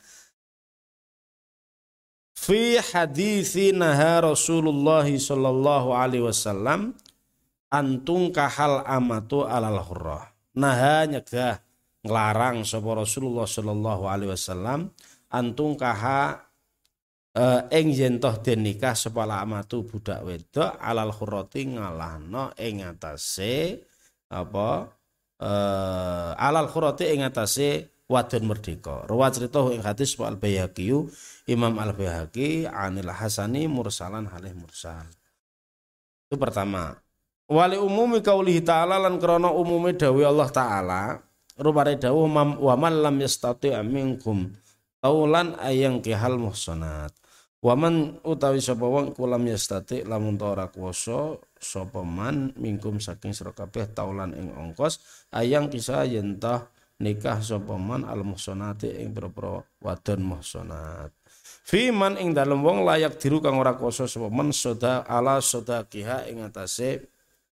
fi hadisi naha Rasulullah sallallahu alaihi wasallam antung kahal amatu alal hurrah. Naha nyegah nglarang sapa Rasulullah sallallahu alaihi wasallam antung kaha ing yen toh den nikah sapa amatu budak wedok alal hurrati ngalahno ing atase apa uh, alal hurrati ing atase wadon merdeka. Rawa cerita ing hadis Al Baihaqi Imam Al Baihaqi anil Hasani mursalan halih mursal. Itu pertama. Wali umumi qaulihi ta'ala lan krana umume dawuh Allah taala rupane dawuh wa man lam yastati minkum taulan ayang kihal muhsanat. Waman utawi sapa wong kulam yastati lamun ora kuwasa sapa man mingkum saking sira kabeh taulan ing ongkos ayang kisah yen tah nikah sapa man al muhsanati ing pira-pira wadon muhsanat. Fi man ing dalem wong layak diru kang ora kuwasa sapa man soda ala sodakiha ing atase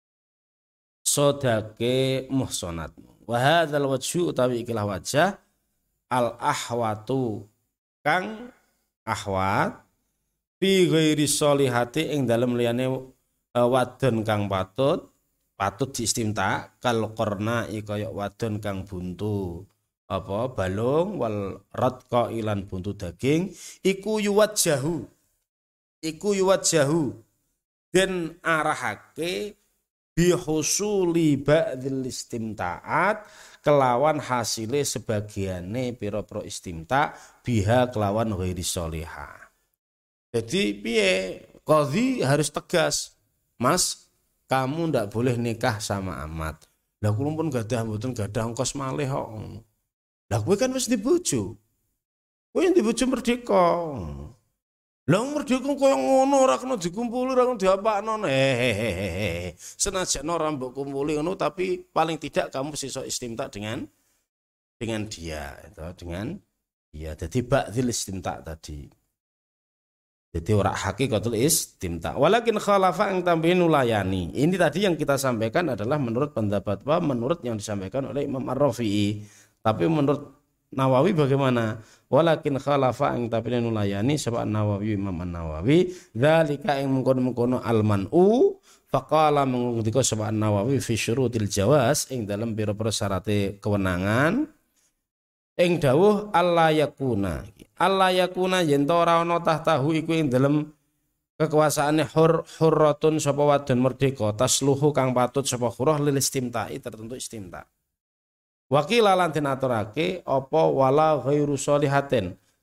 sodake muhsanat. Wa hadzal wajhu utawi ikilah wajah al ahwatu kang ahwat fi ghairi sholihati ing dalem liyane uh, wadon kang patut patut diistimta kal qarna kaya wadon kang buntu apa balung wal radqa ilan buntu daging iku yuwajjahu iku yuwajjahu den arahake bihusuli ba'dil istimta'at kelawan hasile sebagiane pira-pira istimta biha kelawan ghairi sholihah. Jadi piye qadhi harus tegas. Mas, kamu ndak boleh nikah sama amat. Lah kula pun gadah mboten gadah ongkos malih kok. Lah kowe kan wis dibojo. Kowe yang dibojo merdeka. Lah merdeka koyo ngono ora kena dikumpuli ora kena diapakno. Hehehe. Senajan ora mbok kumpuli ngono tapi paling tidak kamu sesuk istimta dengan dengan dia itu dengan dia. Jadi ba'dil istimta tadi. Jadi ora hakikatul istimta. Walakin khalafa ang tambihin ulayani. Ini tadi yang kita sampaikan adalah menurut pendapat apa? Menurut yang disampaikan oleh Imam Ar-Rafi'i. Tapi menurut Nawawi bagaimana? Walakin khalafa ang tambihin ulayani sebab Nawawi Imam An-Nawawi dzalika ing mengkono-mengkono al-man'u faqala mengundika sebab Nawawi fi syurutil jawaz ing dalam pira-pira syarate kewenangan ing dawuh alla yakuna alla yakuna yen ora ana tahtahu iku ing dalem kekuasaane hur hurratun sapa wadon merdeka tasluhu kang patut sapa khurah lil istimta'i tertentu istimta. Wakil lan den aturake apa wala ghairu sholihatin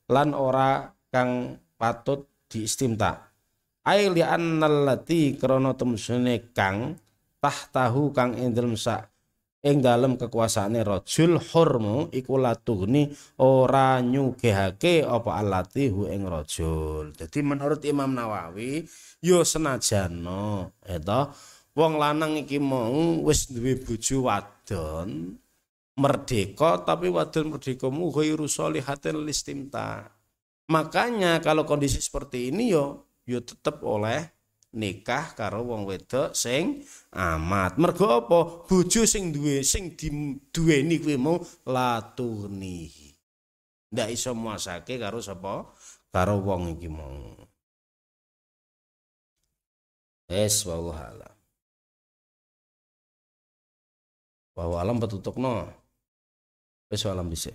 lan ora kang patut diistimta. Ai li annallati krana temsune kang tahtahu kang ing dalem sak ing dalem kekuasaane rajul hurmu iku latuhni ora nyugihake apa allati hu ing rajul. Jadi menurut Imam Nawawi yo senajano eta wong lanang iki mau wis duwe bojo wadon merdeka tapi wadon merdekamu ghairu sholihatin listimta. Makanya kalau kondisi seperti ini yo yo tetep oleh nikah karo wong wedok sing amat. Mergo apa? Bojo sing duwe sing duweni kuwi mau latuni. Ndak iso muasake karo sapa? Karo wong iki mau. Es wallahu alam. Wallahu alam petutukno. Wis alam dhisik.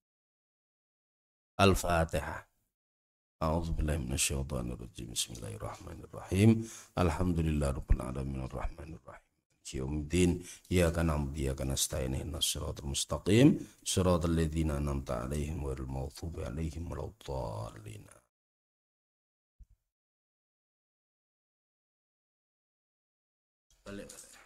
Al-Fatihah. A'udzu billahi minasyaitonir rajim. Bismillahirrahmanirrahim. Alhamdulillahirabbil alamin arrahmanir rahim. Yaumiddin. Iyyaka na'budu wa iyyaka nasta'in. Ihdinas siratal mustaqim. Shiratal ladzina an'amta 'alaihim ghairil maghdubi 'alaihim waladdallin. Balik.